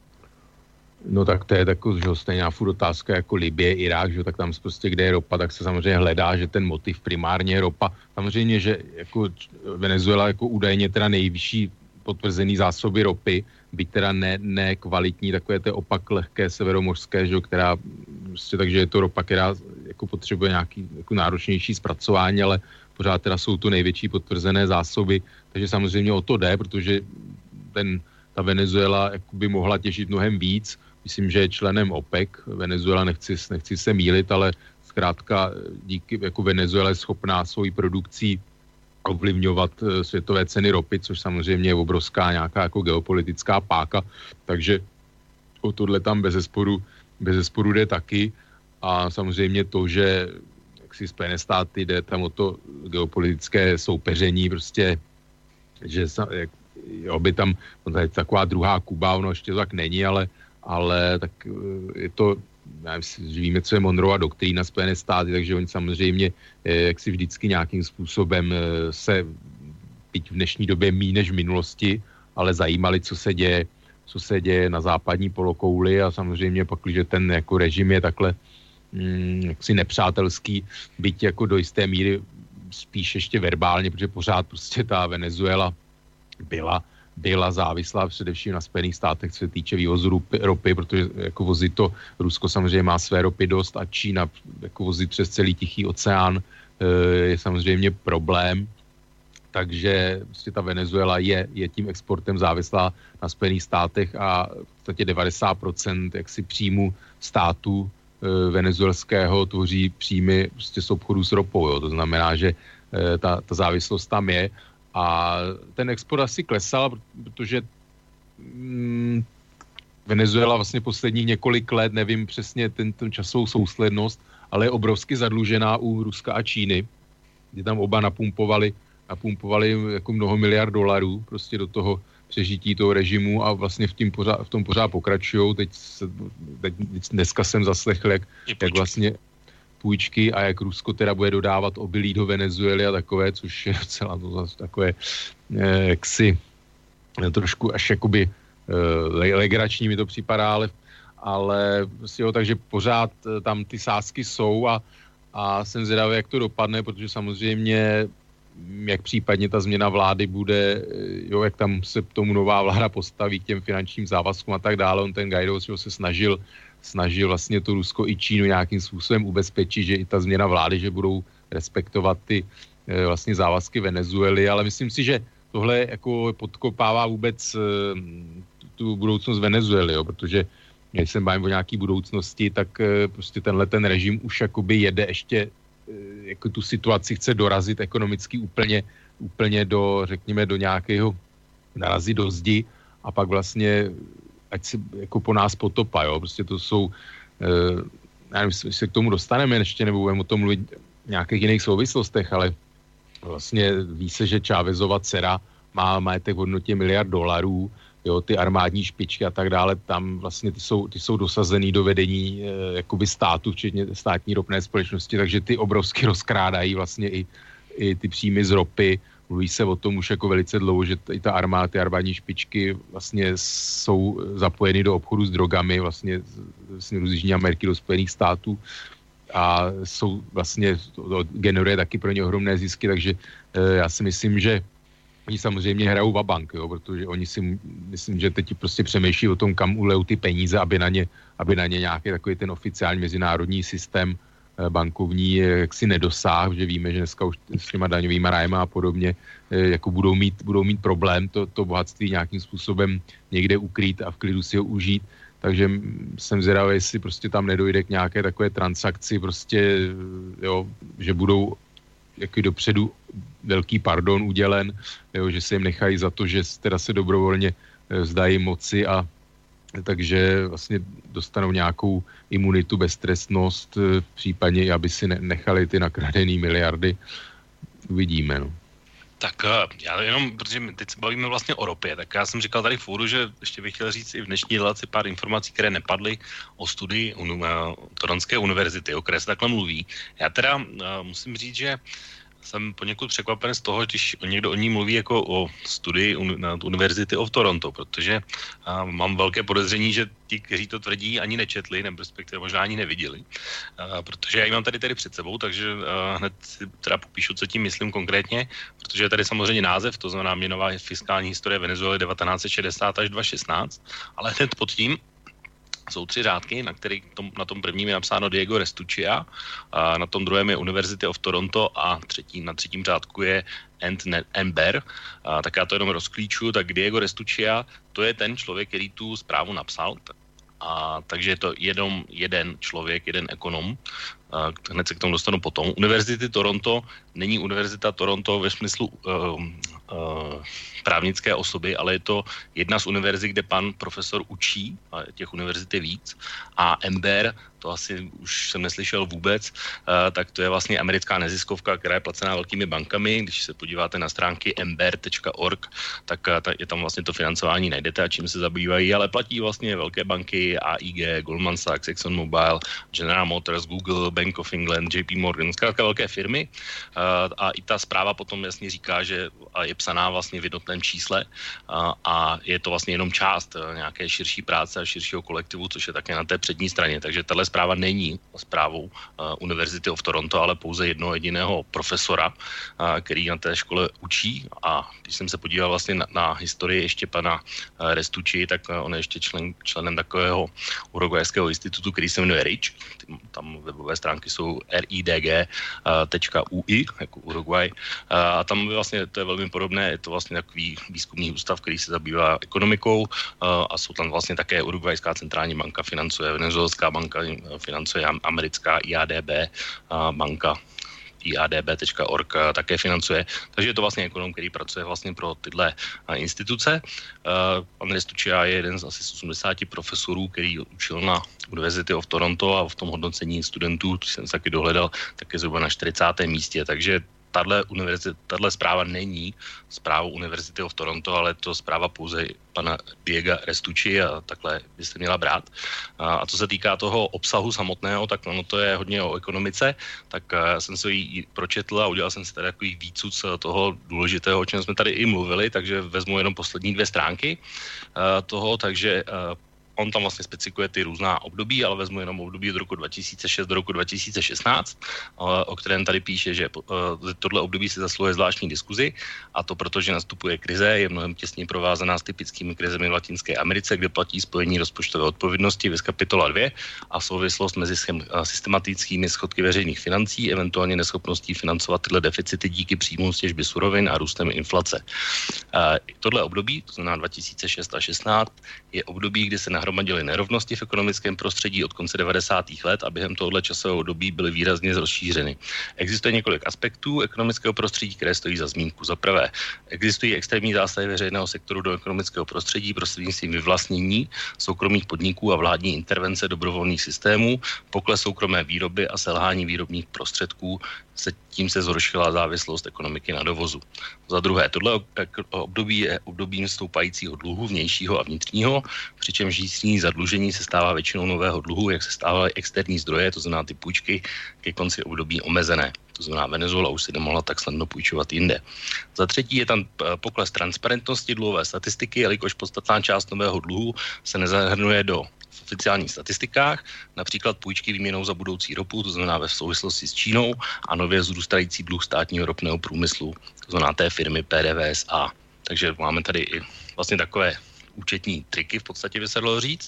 No tak to je takový, že stejná furt otázka jako Libye, Irák, že tak tam prostě, kde je ropa, tak se samozřejmě hledá, že ten motiv primárně je ropa. Samozřejmě, že jako Venezuela jako údajně teda nejvyšší potvrzený zásoby ropy, byť teda ne kvalitní, takové to opak lehké severomořské, že, která prostě, takže je to ropa, která jako potřebuje nějaký jako náročnější zpracování, ale pořád teda jsou to největší potvrzené zásoby, takže samozřejmě o to jde, protože ta Venezuela by mohla těžit mnohem víc. Myslím, že je členem OPEC. Venezuela, nechci se mýlit, ale zkrátka díky jako Venezuela je schopná svojí produkcí ovlivňovat světové ceny ropy, což samozřejmě je obrovská nějaká jako geopolitická páka, takže o tohle tam bez zesporu jde taky a samozřejmě to, že jak si Spojené státy jde tam o to geopolitické soupeření, prostě, že by tam taková druhá Kuba, ono ještě to tak není, ale tak je to, že víme, co je Monroeova doktrína Spojené státy, takže oni samozřejmě jak si vždycky nějakým způsobem se, byť v dnešní době míň než v minulosti, ale zajímali, co se děje na západní polokouli a samozřejmě pak, když ten jako režim je takhle jaksi nepřátelský, byť jako do jisté míry spíš ještě verbálně, protože pořád prostě ta Venezuela byla závislá především na Spojených státech, co se týče vývozu ropy, protože jako vozit to, Rusko samozřejmě má své ropy dost a Čína jako vozit přes celý Tichý oceán je samozřejmě problém, takže prostě ta Venezuela je tím exportem závislá na Spojených státech a v podstatě 90% jaksi příjmu státu venezuelského tvoří příjmy prostě z obchodu s ropou, jo. To znamená, že ta závislost tam je. A ten export asi klesal, protože Venezuela vlastně posledních několik let, nevím přesně ten časovou souslednost, ale je obrovsky zadlužená u Ruska a Číny, kdy tam oba napumpovali jako mnoho miliard dolarů prostě do toho přežití toho režimu a vlastně v tom pořád pokračujou. Teď dneska jsem zaslechl, jak vlastně půjčky a jak Rusko teda bude dodávat obilí do Venezuely a takové, což je docela to zase takové jaksi trošku až jakoby legrační mi to připadá, ale jo, takže pořád tam ty sázky jsou a jsem zvědavý, jak to dopadne, protože samozřejmě jak případně ta změna vlády bude, jo, jak tam se tomu nová vláda postaví k těm finančním závazkům a tak dále. On ten Guaido se snažil vlastně to Rusko i Čínu nějakým způsobem ubezpečit, že i ta změna vlády, že budou respektovat ty vlastně závazky Venezuely, ale myslím si, že tohle jako podkopává vůbec tu budoucnost Venezuely, jo, protože když se bavím o nějaký budoucnosti, tak prostě ten režim už jakoby jede ještě jako tu situaci chce dorazit ekonomicky úplně do, řekněme, do nějakého narazit do zdi a pak vlastně ať si jako po nás potopa, jo, prostě to jsou já nevím, jestli se k tomu dostaneme ještě, nebo budeme o tom mluvit v nějakých jiných souvislostech, ale vlastně ví se, že Chávezova dcera má majetek v hodnotě $1 miliard, jo, ty armádní špičky a tak dále, tam vlastně ty jsou dosazený do vedení jakoby státu, včetně státní ropné společnosti, takže ty obrovsky rozkrádají vlastně i ty příjmy z ropy. Mluví se o tom už jako velice dlouho, že i ty armádní špičky vlastně jsou zapojeny do obchodu s drogami, vlastně z Jižní Ameriky do Spojených států a jsou vlastně, to generuje taky pro ně ohromné zisky, takže já si myslím, že oni samozřejmě hrajou vabank, jo, protože oni si myslím, že teď prostě přemýšlí o tom, kam ulejou ty peníze, aby na ně nějaký takový ten oficiální mezinárodní systém bankovní jaksi nedosáhl, že víme, že dneska už s těma daňovýma rájema a podobně jako budou mít problém to bohatství nějakým způsobem někde ukrýt a v klidu si ho užít. Takže jsem zvědavý, jestli prostě tam nedojde k nějaké takové transakci, prostě, jo, že budou jaký dopředu velký pardon udělen, jo, že se jim nechají za to, že teda se dobrovolně vzdají moci a takže vlastně dostanou nějakou imunitu, beztrestnost, případně aby si nechali ty nakradený miliardy. Uvidíme, no. Tak já jenom, protože my teď se bavíme vlastně o ropě, tak já jsem říkal tady v úvodu, že ještě bych chtěl říct i v dnešní relaci pár informací, které nepadly o studii Toronské univerzity, o které se takhle mluví. Já teda musím říct, že jsem poněkud překvapen z toho, když někdo o ní mluví jako o studii na University of Toronto, protože mám velké podezření, že ti, kteří to tvrdí, ani nečetli, nebo respektive možná ani neviděli. Protože já ji mám tady před sebou, takže hned si teda popíšu, co tím myslím konkrétně, protože je tady samozřejmě název, to znamená měnová fiskální historie Venezuely 1960 až 2016, ale hned pod tím jsou 3 řádky, na tom prvním je napsáno Diego Restuccia, a na tom druhém je University of Toronto a na třetím řádku je Ember. Tak já to jenom rozklíču, tak Diego Restuccia, to je ten člověk, který tu zprávu napsal, takže je to jeden člověk, jeden ekonom. Hned se k tomu dostanu potom. Univerzity Toronto není Univerzita Toronto ve smyslu právnické osoby, ale je to jedna z univerzit, kde pan profesor učí, a těch univerzit je víc. A Ember, to asi už jsem neslyšel vůbec, tak to je vlastně americká neziskovka, která je placená velkými bankami. Když se podíváte na stránky ember.org, tak je tam vlastně to financování najdete a čím se zabývají, ale platí vlastně velké banky, AIG, Goldman Sachs, ExxonMobil, General Motors, Google, Bank of England, JP Morgan, zkrátka velké firmy. A i ta zpráva potom jasně říká, že je psaná vlastně v jednotném čísle a je to vlastně jenom část nějaké širší práce a širšího kolektivu, což je také na té přední straně. Takže tahle zpráva není zprávou University of Toronto, ale pouze jednoho jediného profesora, který na té škole učí. A když jsem se podíval vlastně na historii ještě pana Restucci, tak on je ještě členem takového uruguayského institutu, který se jmenuje RIČ. Tam webové stránky jsou ridg.ui, jako Uruguay. A tam vlastně to je velmi podobné, je to vlastně takový výzkumný ústav, který se zabývá ekonomikou a jsou tam vlastně také Uruguayská centrální banka financuje, Venezuelská banka financuje, americká IADB banka iadb.org také financuje. Takže je to vlastně ekonom, který pracuje vlastně pro tyhle instituce. Pan Restuccia je jeden z asi 80 profesorů, který učil na University of Toronto a v tom hodnocení studentů, to jsem se taky dohledal, tak je zhruba na 40. místě. Takže tahle zpráva není zprávou University of Toronto, ale je to zpráva pouze pana Diega Restucci a takhle byste měla brát. A co se týká toho obsahu samotného, tak ono to je hodně o ekonomice, tak jsem se ji pročetl a udělal jsem si tady takový výcuc toho důležitého, o čem jsme tady i mluvili, takže vezmu jenom poslední 2 stránky toho, takže on tam vlastně specifikuje ty různá období, ale vezmu jenom období od roku 2006 do roku 2016, o kterém tady píše, že tohle období si zasluhuje zvláštní diskuzi, a to proto, že nastupuje krize, je mnohem těsně provázaná s typickými krizemi v Latinské Americe, kde platí spojení rozpočtové odpovědnosti viz kapitola 2 a souvislost mezi systematickými schodky veřejných financí, eventuálně neschopností financovat tyhle deficity díky příjmům z těžby surovin a růstem inflace. Tohle období, to znamená 2006 a 16, je období, kdy se nahromadily nerovnosti v ekonomickém prostředí od konce 90. let a během tohoto časového období byly výrazně rozšířeny. Existuje několik aspektů ekonomického prostředí, které stojí za zmínku. Za prvé, existují extrémní zásahy veřejného sektoru do ekonomického prostředí prostřednictvím vyvlastnění soukromých podniků a vládní intervence dobrovolných systémů, pokles soukromé výroby a selhání výrobních prostředků, tím se zhoršila závislost ekonomiky na dovozu. Za druhé, tohle období je obdobím stoupajícího dluhu vnějšího a vnitřního, přičemž jízdní zadlužení se stává většinou nového dluhu, jak se stávaly externí zdroje, to znamená ty půjčky, ke konci období omezené. To znamená, Venezuela už si nemohla tak snadno půjčovat jinde. Za třetí je tam pokles transparentnosti dluhové statistiky, jelikož podstatná část nového dluhu se nezahrnuje do oficiálních statistikách, například půjčky výměnou za budoucí ropu, to znamená ve souvislosti s Čínou, a nově vzrůstající dluh státního ropného průmyslu, to znamená té firmy PDVSA. Takže máme tady i vlastně takové účetní triky, v podstatě by se dalo říct.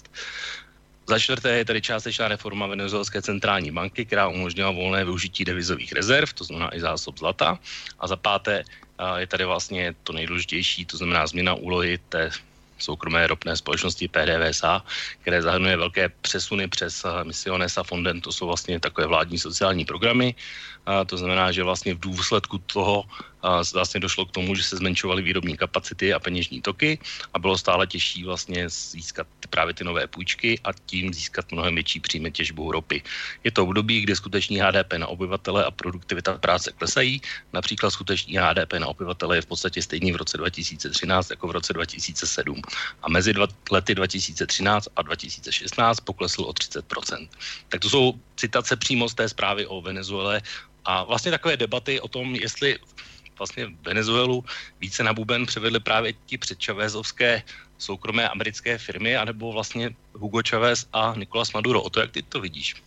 Za čtvrté je tady částečná reforma venezuelské centrální banky, která umožnila volné využití devizových rezerv, to znamená i zásob zlata. A za páté je tady vlastně to nejdůležitější, to znamená změna úlohy té soukromé ropné společnosti PDVSA, které zahrnuje velké přesuny přes Misiones a Fonden, to jsou vlastně takové vládní sociální programy. To znamená, že vlastně v důsledku toho vlastně došlo k tomu, že se zmenšovaly výrobní kapacity a peněžní toky a bylo stále těžší vlastně získat právě ty nové půjčky a tím získat mnohem větší příjmy těžbou ropy. Je to období, kdy skutečný HDP na obyvatele a produktivita práce klesají. Například skutečný HDP na obyvatele je v podstatě stejný v roce 2013 jako v roce 2007. A mezi lety 2013 a 2016 poklesl o 30%. Tak to jsou citace přímo z té zprávy o Venezuele a vlastně takové debaty o tom, jestli vlastně Venezuelu více na buben převedli právě ti předčavézovské soukromé americké firmy, anebo vlastně Hugo Chávez a Nicolás Maduro. O to, jak ty to vidíš?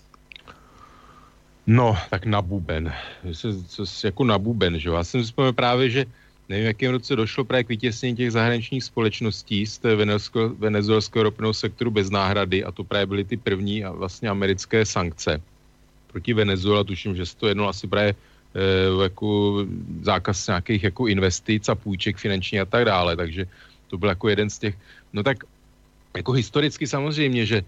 No, tak na buben. Jako na buben, že jo? Já jsem si vzpomněl právě, že nevím, v jakém roce došlo právě k vytěsnění těch zahraničních společností z té venezuelského ropného sektoru bez náhrady a to právě byly ty první a vlastně americké sankce proti Venezuela. Tuším, že se to jednalo asi právě jako zákaz nějakých jako investic a půjček finanční a tak dále, takže to byl jako jeden z těch, no tak jako historicky samozřejmě, že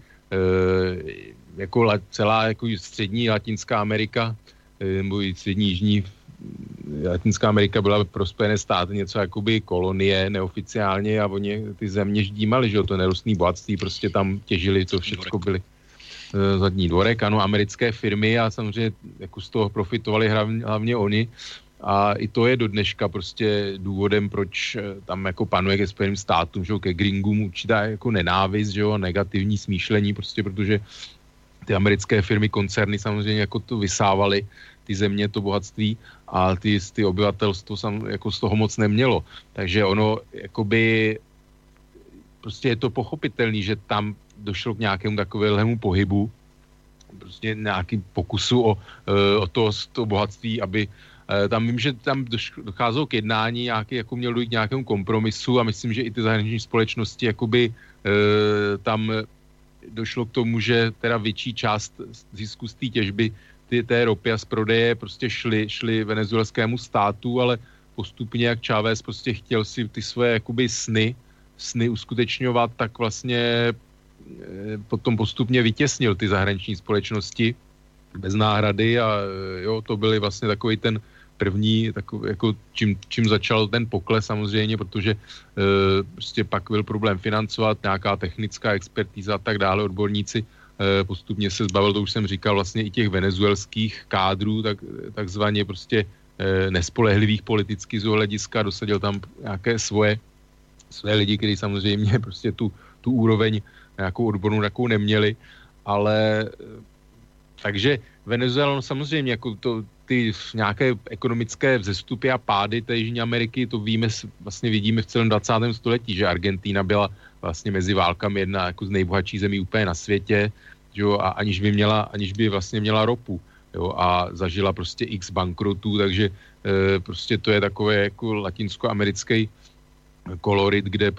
jako celá jako střední Latinská Amerika nebo i střední jižní Latinská Amerika byla pro Spojené státy něco jakoby kolonie neoficiálně a oni ty země ždímali, že jo, to nerostné bohatství, prostě tam těžili, to všechno byly zadní dvorek, ano, americké firmy a samozřejmě jako z toho profitovali hlavně oni a i to je do dneška prostě důvodem, proč tam jako panuje ke Spojeným státům, že jo, ke gringům určitá jako nenávist, že jo, negativní smýšlení, prostě protože ty americké firmy, koncerny samozřejmě jako to vysávaly ty země, to bohatství a ty obyvatelstvo jako z toho moc nemělo. Takže ono jakoby prostě je to pochopitelný, že tam došlo k nějakému takovému pohybu, prostě nějakým pokusu o to bohatství, aby tam vím, že tam docházelo k jednání, jako mělo dojít k nějakému kompromisu a myslím, že i ty zahraniční společnosti jakoby tam došlo k tomu, že teda větší část zisku z té těžby té ropy a z prodeje prostě šly venezuelskému státu, ale postupně, jak Chávez prostě chtěl si ty svoje jakoby sny uskutečňovat, tak vlastně potom postupně vytěsnil ty zahraniční společnosti bez náhrady a jo, to byly vlastně takový ten první, takový, jako čím začal ten pokles samozřejmě, protože prostě pak byl problém financovat, nějaká technická expertíza a tak dále, odborníci postupně se zbavil, to už jsem říkal, vlastně i těch venezuelských kádrů, takzvaně prostě nespolehlivých politicky z hlediska, dosadil tam nějaké své lidi, kteří samozřejmě prostě tu úroveň nějakou odbornou takovou neměli, ale takže Venezuela samozřejmě jako ty nějaké ekonomické vzestupy a pády té Jižní Ameriky, to vlastně vidíme v celém 20. století, že Argentína byla vlastně mezi válkami jedna jako z nejbohatších zemí úplně na světě, jo, a aniž by vlastně měla ropu, jo, a zažila prostě x bankrotů, takže prostě to je takové jako latinskoamerický kolorit, kde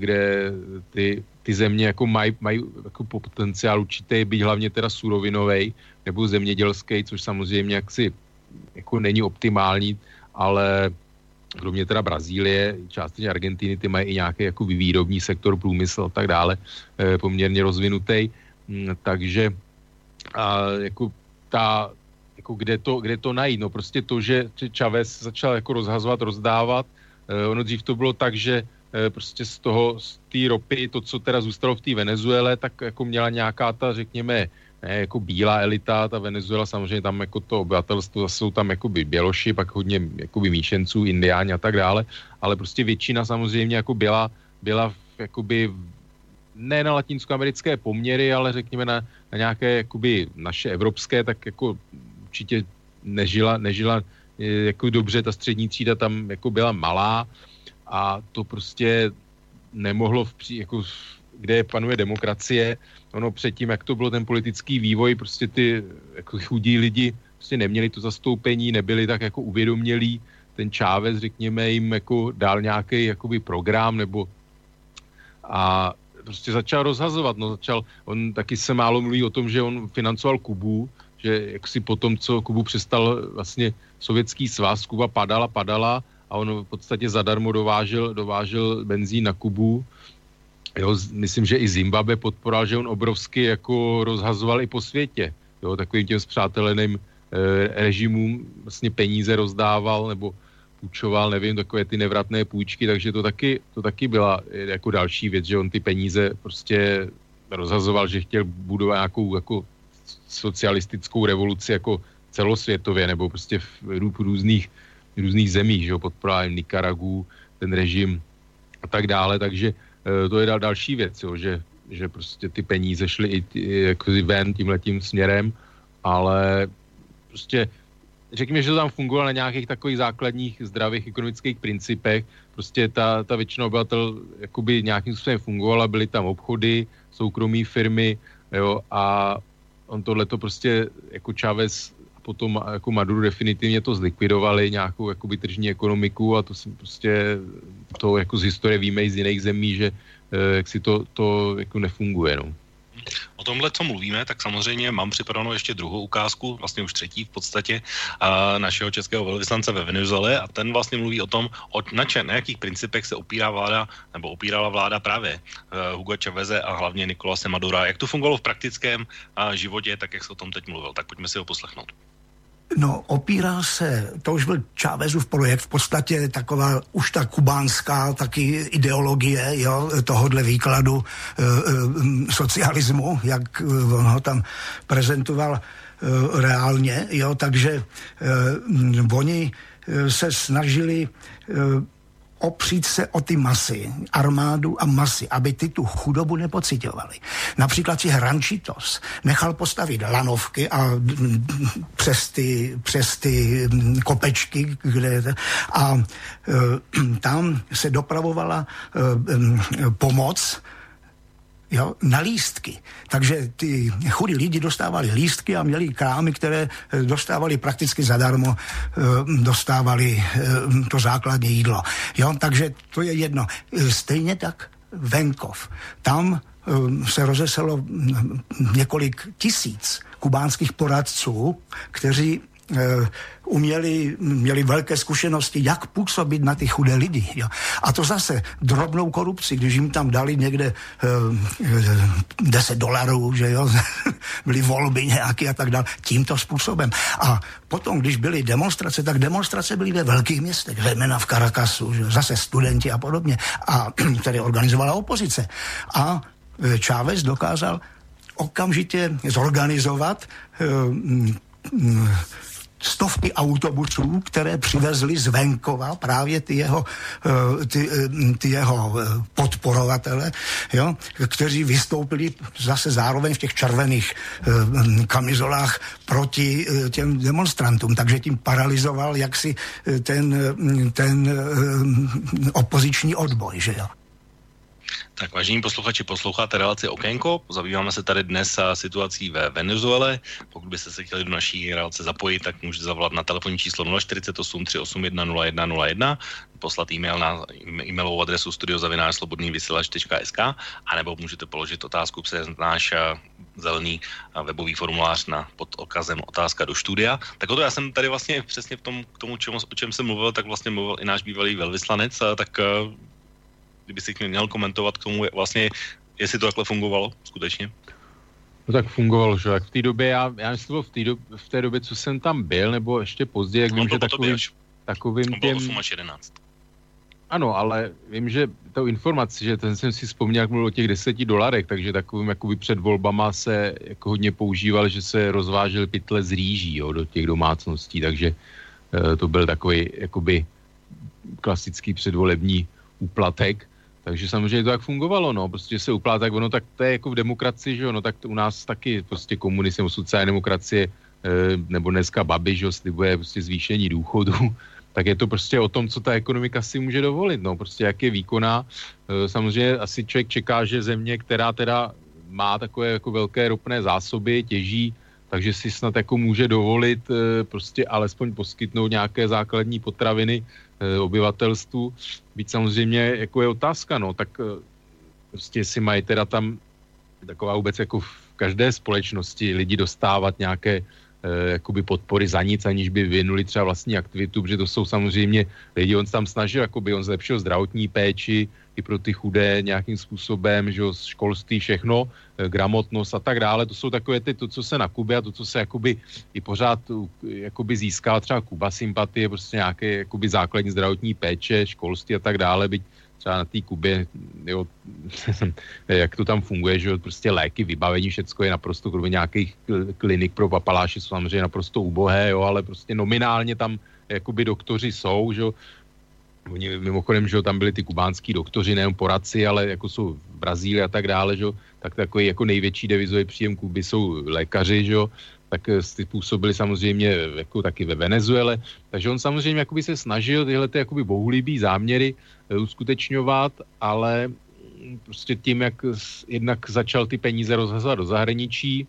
ty země jako mají jako potenciál určitý, být hlavně teda surovinovej nebo zemědělský, což samozřejmě jaksi jako není optimální, ale kromě teda Brazílie, částečně Argentiny, ty mají i nějaký jako výrobní sektor, průmysl a tak dále, poměrně rozvinutý. Takže jako kde to najít? No prostě to, že Chávez začal jako rozhazovat, rozdávat. Ono dřív to bylo tak, že prostě z té ropy, to, co teda zůstalo v té Venezuele, tak jako měla nějaká ta, řekněme, jako bílá elita, ta Venezuela, samozřejmě tam jako to obyvatelstvo, jsou tam jakoby běloši, pak hodně jakoby míšenců, indiáni a tak dále, ale prostě většina samozřejmě jako byla jakoby ne na latinskoamerické poměry, ale řekněme na nějaké jakoby naše evropské, tak jako určitě nežila jako dobře, ta střední třída tam jako byla malá a to prostě nemohlo kde panuje demokracie, ono předtím, jak to bylo ten politický vývoj, prostě ty jako chudí lidi prostě neměli to zastoupení, nebyli tak jako uvědomělí, ten Chávez, řekněme, jim jako dal nějaký jakoby program nebo a prostě začal rozhazovat, on taky se málo mluví o tom, že on financoval Kubu, že jak si potom, co Kubu přestal vlastně Sovětský svaz, Kuba padala a on v podstatě zadarmo dovážel benzín na Kubu. Jo, myslím, že i Zimbabwe podporoval, že on obrovsky jako rozhazoval i po světě. Jo, takovým těm spřáteleným režimům vlastně peníze rozdával nebo půjčoval, nevím, takové ty nevratné půjčky, takže to taky byla jako další věc, že on ty peníze prostě rozhazoval, že chtěl budovat nějakou jako socialistickou revoluci jako celosvětově, nebo prostě v různých zemích, že jo, podporoval Nikaragu, ten režim a tak dále, takže to je další věc, jo, že prostě ty peníze šly i jako ven tímhletím směrem, ale prostě řekněme, že to tam fungovalo na nějakých takových základních zdravých ekonomických principech, prostě ta většina obyvatel jakoby nějakým způsobem fungovala, byly tam obchody, soukromí firmy, jo, a on tohleto prostě jako Chávez a potom jako Maduro definitivně to zlikvidovali, nějakou jakoby tržní ekonomiku a to si prostě to jako z historie víme i z jiných zemí, že jak si to jako nefunguje, no. O tomhle, co mluvíme, tak samozřejmě mám připravenou ještě druhou ukázku, vlastně už třetí v podstatě, našeho českého velvyslance ve Venezuele a ten vlastně mluví o tom, na jakých principech se opírala vláda právě Hugo Cháveze a hlavně Nicolase Madura. Jak to fungovalo v praktickém životě, tak jak se o tom teď mluvil, tak pojďme si ho poslechnout. No, opírá se, to už byl Chávezův projekt, v podstatě taková už ta kubánská taky ideologie, jo, tohodle výkladu socialismu, jak on ho tam prezentoval reálně, jo, takže oni se snažili opřít se o ty masy, armádu a masy, aby ty tu chudobu nepociťovali. Například si Hrančitos nechal postavit lanovky a přes ty kopečky, a tam se dopravovala pomoc, jo, na lístky. Takže ty chudí lidi dostávali lístky a měli krámy, které dostávali prakticky zadarmo, dostávali to základní jídlo. Jo, takže to je jedno. Stejně tak venkov. Tam se rozeselo několik tisíc kubánských poradců, kteří měli velké zkušenosti, jak působit na ty chudé lidi. Jo. A to zase drobnou korupci, když jim tam dali někde $10, že jo, byly volby nějaké a tak dále, tímto způsobem. A potom, když byly demonstrace, tak demonstrace byly ve velkých městech, zejména v Caracasu, že zase studenti a podobně, a tady organizovala opozice. A Chávez dokázal okamžitě zorganizovat stovky autobusů, které přivezly z venkova právě ty jeho podporovatele, jo, kteří vystoupili zase zároveň v těch červených kamizolách proti těm demonstrantům. Takže tím paralizoval jaksi ten opoziční odboj, že jo. Tak vážení posluchači, posloucháte relaci Okénko, zabýváme se tady dnes situací ve Venezuele. Pokud byste se chtěli do naší relace zapojit, tak můžete zavolat na telefonní číslo 048 381 0101, poslat e-mail na e-mailovou adresu studio@slobodnývysílač.sk anebo můžete položit otázku přes náš zelený webový formulář pod okazem otázka do studia. Tak o to já jsem tady vlastně přesně k tomu, o čem jsem mluvil, tak vlastně mluvil i náš bývalý velvyslanec, tak kdyby si měl komentovat k tomu vlastně, jestli to takhle fungovalo skutečně. No tak fungovalo, že? Jak v té době, já myslím, v té době, co jsem tam byl, nebo ještě později, jak vím, že takovým těm... 8 až 11. Ano, ale vím, že tou informaci, že ten jsem si vzpomněl, jak mluvil o těch $10, takže takovým jakoby před volbama se jako hodně používal, že se rozvážel pytle z rýží, jo, do těch domácností, takže to byl takový jakoby klasický předvolební úplatek. Takže samozřejmě to tak fungovalo, no, prostě se uplát, tak ono, tak to je jako v demokracii, že jo, no, tak u nás taky prostě komunismus, sociální demokracie, nebo dneska Babiš, že jo, slibuje prostě zvýšení důchodu, tak je to prostě o tom, co ta ekonomika si může dovolit, no, prostě jak je výkonná. Samozřejmě asi člověk čeká, že země, která teda má takové jako velké ropné zásoby, těží, takže si snad jako může dovolit prostě alespoň poskytnout nějaké základní potraviny obyvatelstvu. Byť samozřejmě jako je otázka, no, tak prostě si mají teda tam taková vůbec jako v každé společnosti lidi dostávat nějaké jakoby podpory za nic, aniž by vyvinuli třeba vlastní aktivitu, protože to jsou samozřejmě lidi, on se tam snažil, jakoby on zlepšil zdravotní péči i pro ty chudé nějakým způsobem, že jo, školství, všechno, gramotnost a tak dále, to jsou takové to, co se na Kubě a to, co se jakoby i pořád jakoby získá třeba Kuba sympatie, prostě nějaké jakoby základní zdravotní péče, školství a tak dále, byť třeba na té Kubě, jo, jak to tam funguje, že jo, prostě léky, vybavení, všecko je naprosto, kromě nějakých klinik pro papaláše jsou samozřejmě naprosto ubohé, jo, ale prostě nominálně tam jakoby doktoři jsou, že jo. Oni mimochodem, že jo, tam byli ty kubánský doktoři, nejen poradci, ale jako jsou v Brazílii a tak dále, že jo, tak takový jako největší devizový příjem Kuby jsou lékaři, že jo, tak působili samozřejmě jako taky ve Venezuele, takže on samozřejmě jakoby se snažil tyhle ty jakoby bohulibý záměry uskutečňovat, ale prostě tím, jak jednak začal ty peníze rozhazovat do zahraničí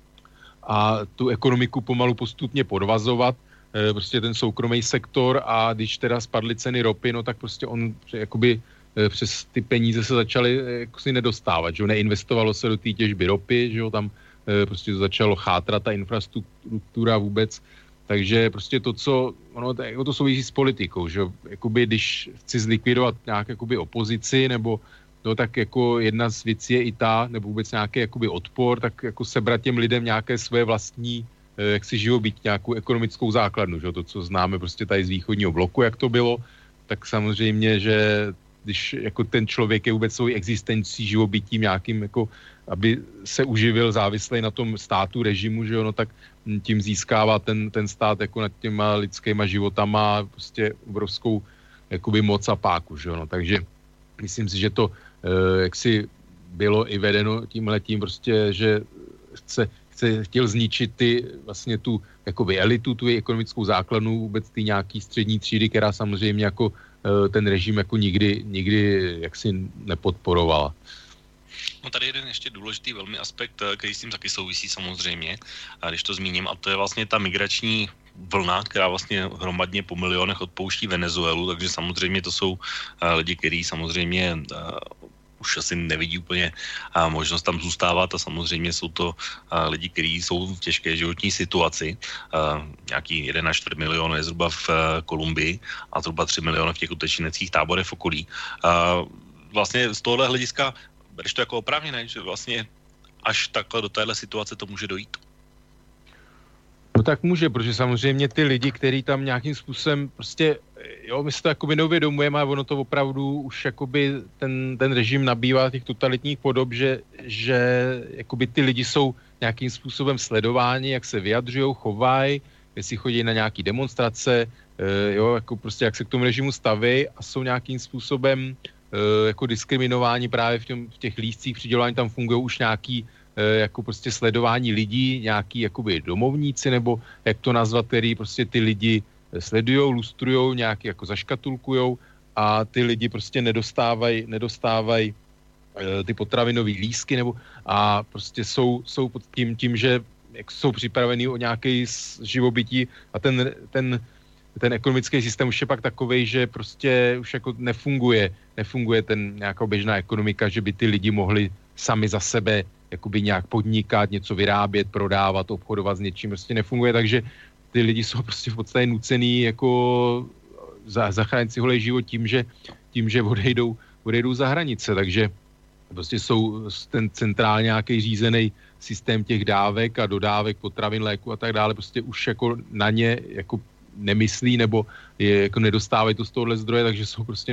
a tu ekonomiku pomalu postupně podvazovat, prostě ten soukromý sektor a když teda spadly ceny ropy, no tak prostě on jakoby přes ty peníze se začaly jako si nedostávat, že jo, neinvestovalo se do té těžby ropy, že jo, tam prostě to začalo chátrat ta infrastruktura vůbec, takže prostě to, co, ono to souvisí s politikou, že jo, jakoby když chci zlikvidovat nějak jakoby opozici, nebo no tak jako jedna z věcí je i ta, nebo vůbec nějaký jakoby odpor, tak jako sebrat těm lidem nějaké své vlastní jak si živobytí, nějakou ekonomickou základnu, že? To, co známe prostě tady z východního bloku, jak to bylo, tak samozřejmě, že když jako ten člověk je vůbec svou existencí, živobytím nějakým, jako, aby se uživil závislej na tom státu, režimu, že jo, no, tak tím získává ten stát jako nad těma lidskýma životama prostě obrovskou jakoby moc a páku, že jo, no, takže myslím si, že to jaksi bylo i vedeno tímhletím prostě, že chtěl zničit vlastně tu jakoby elitu, tu ekonomickou základnu, vůbec ty nějaký střední třídy, která samozřejmě jako ten režim jako nikdy jaksi nepodporovala. No tady jeden ještě důležitý velmi aspekt, který s tím taky souvisí samozřejmě, a když to zmíním, a to je vlastně ta migrační vlna, která vlastně hromadně po milionech odpouští Venezuelu, takže samozřejmě to jsou lidi, kteří samozřejmě už asi nevidí úplně možnost tam zůstávat a samozřejmě jsou to lidi, kteří jsou v těžké životní situaci. Nějaký 1,4 milionu je zhruba v Kolumbii a zhruba 3 miliony v těch utečeneckých táborech v okolí. Vlastně z tohohle hlediska bereš to jako oprávněné, že vlastně až takhle do téhle situace to může dojít? No tak může, protože samozřejmě ty lidi, kteří tam nějakým způsobem prostě, jo, my si to jakoby neuvědomujeme, ale ono to opravdu už jakoby ten režim nabývá těch totalitních podob, že jakoby ty lidi jsou nějakým způsobem sledováni, jak se vyjadřují, chovají, jestli chodí na nějaký demonstrace, jo, jako prostě jak se k tomu režimu staví a jsou nějakým způsobem jako diskriminováni právě v těch lístcích přidělování, tam fungují už nějaký jako prostě sledování lidí, nějaký jakoby domovníci, nebo jak to nazvat, který prostě ty lidi sledujou, lustrujou, nějaký jako zaškatulkujou a ty lidi prostě nedostávají ty potravinové lístky, nebo a prostě jsou pod tím, že jsou připravení o nějaký živobytí a ten ekonomický systém už je pak takovej, že prostě už jako nefunguje ten nějaká běžná ekonomika, že by ty lidi mohli sami za sebe jakoby nějak podnikat, něco vyrábět, prodávat, obchodovat s něčím, prostě nefunguje, takže ty lidi jsou prostě v podstatě nucený jako zachránit si holej život tím, že odejdou za hranice, takže prostě jsou ten centrálně nějaký řízený systém těch dávek a dodávek potravin, léku a tak dále, prostě už jako na ně jako nemyslí nebo je jako nedostávají to z tohohle zdroje, takže jsou prostě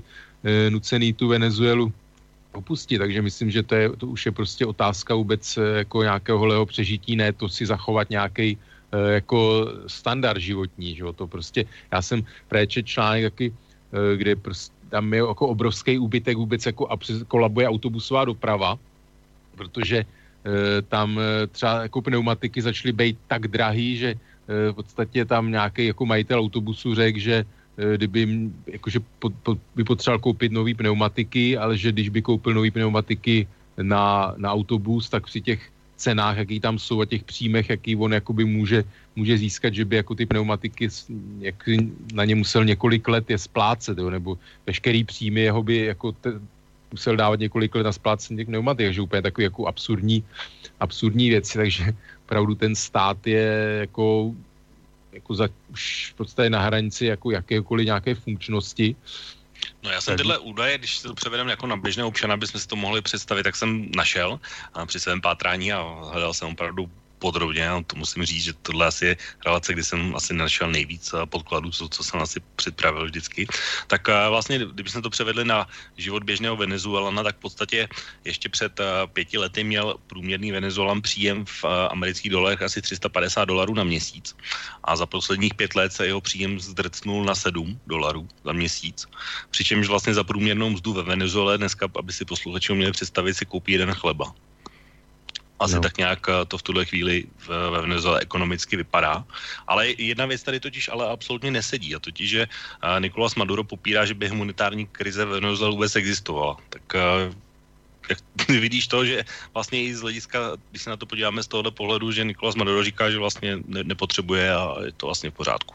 nucený tu Venezuelu opustit, takže myslím, že to už je prostě otázka vůbec jako nějakého holého přežití, ne to si zachovat nějaký jako standard životní, že jo, to prostě, já jsem přečetl článek taky, kde prostě tam je jako obrovský úbytek vůbec jako kolabuje autobusová doprava, protože tam třeba jako pneumatiky začaly být tak drahý, že v podstatě tam nějaký jako majitel autobusu řekl, že kdyby jakože by potřeboval koupit nový pneumatiky, ale že když by koupil nový pneumatiky na autobus, tak při těch cenách, jaký tam jsou a těch příjmech, jaký on jakoby může získat, že by jako ty pneumatiky jak na ně musel několik let je splácet, jo, nebo veškerý příjmy jeho by jako musel dávat několik let na splácení těch pneumatik, takže úplně takový jako absurdní věci, takže opravdu ten stát je jako už v podstatě na hranici jako jakékoliv nějaké funkčnosti. No já jsem tyhle údaje, když se to převedeme jako na běžné občana, abychom si to mohli představit, tak jsem našel při svém pátrání a hledal jsem opravdu podrobně, a to musím říct, že tohle asi je relace, kdy jsem asi našel nejvíc podkladů, co jsem asi připravil vždycky. Tak vlastně, kdybychom to převedli na život běžného Venezuelana, tak v podstatě ještě před 5 lety měl průměrný Venezuelan příjem v amerických dolarech asi $350 na měsíc. A za posledních 5 let se jeho příjem zdrcnul na $7 za měsíc. Přičemž vlastně za průměrnou mzdu ve Venezuele dneska, aby si posluchači měli představit, si koupí jeden chleba. Asi tak nějak to v tuhle chvíli ve Venezuele ekonomicky vypadá. Ale jedna věc tady totiž ale absolutně nesedí, a totiž, že Nicolás Maduro popírá, že by humanitární krize ve Venezuele vůbec existovala. Tak jak vidíš to, že vlastně i z hlediska, když se na to podíváme z tohohle pohledu, že Nicolás Maduro říká, že vlastně nepotřebuje a je to vlastně v pořádku.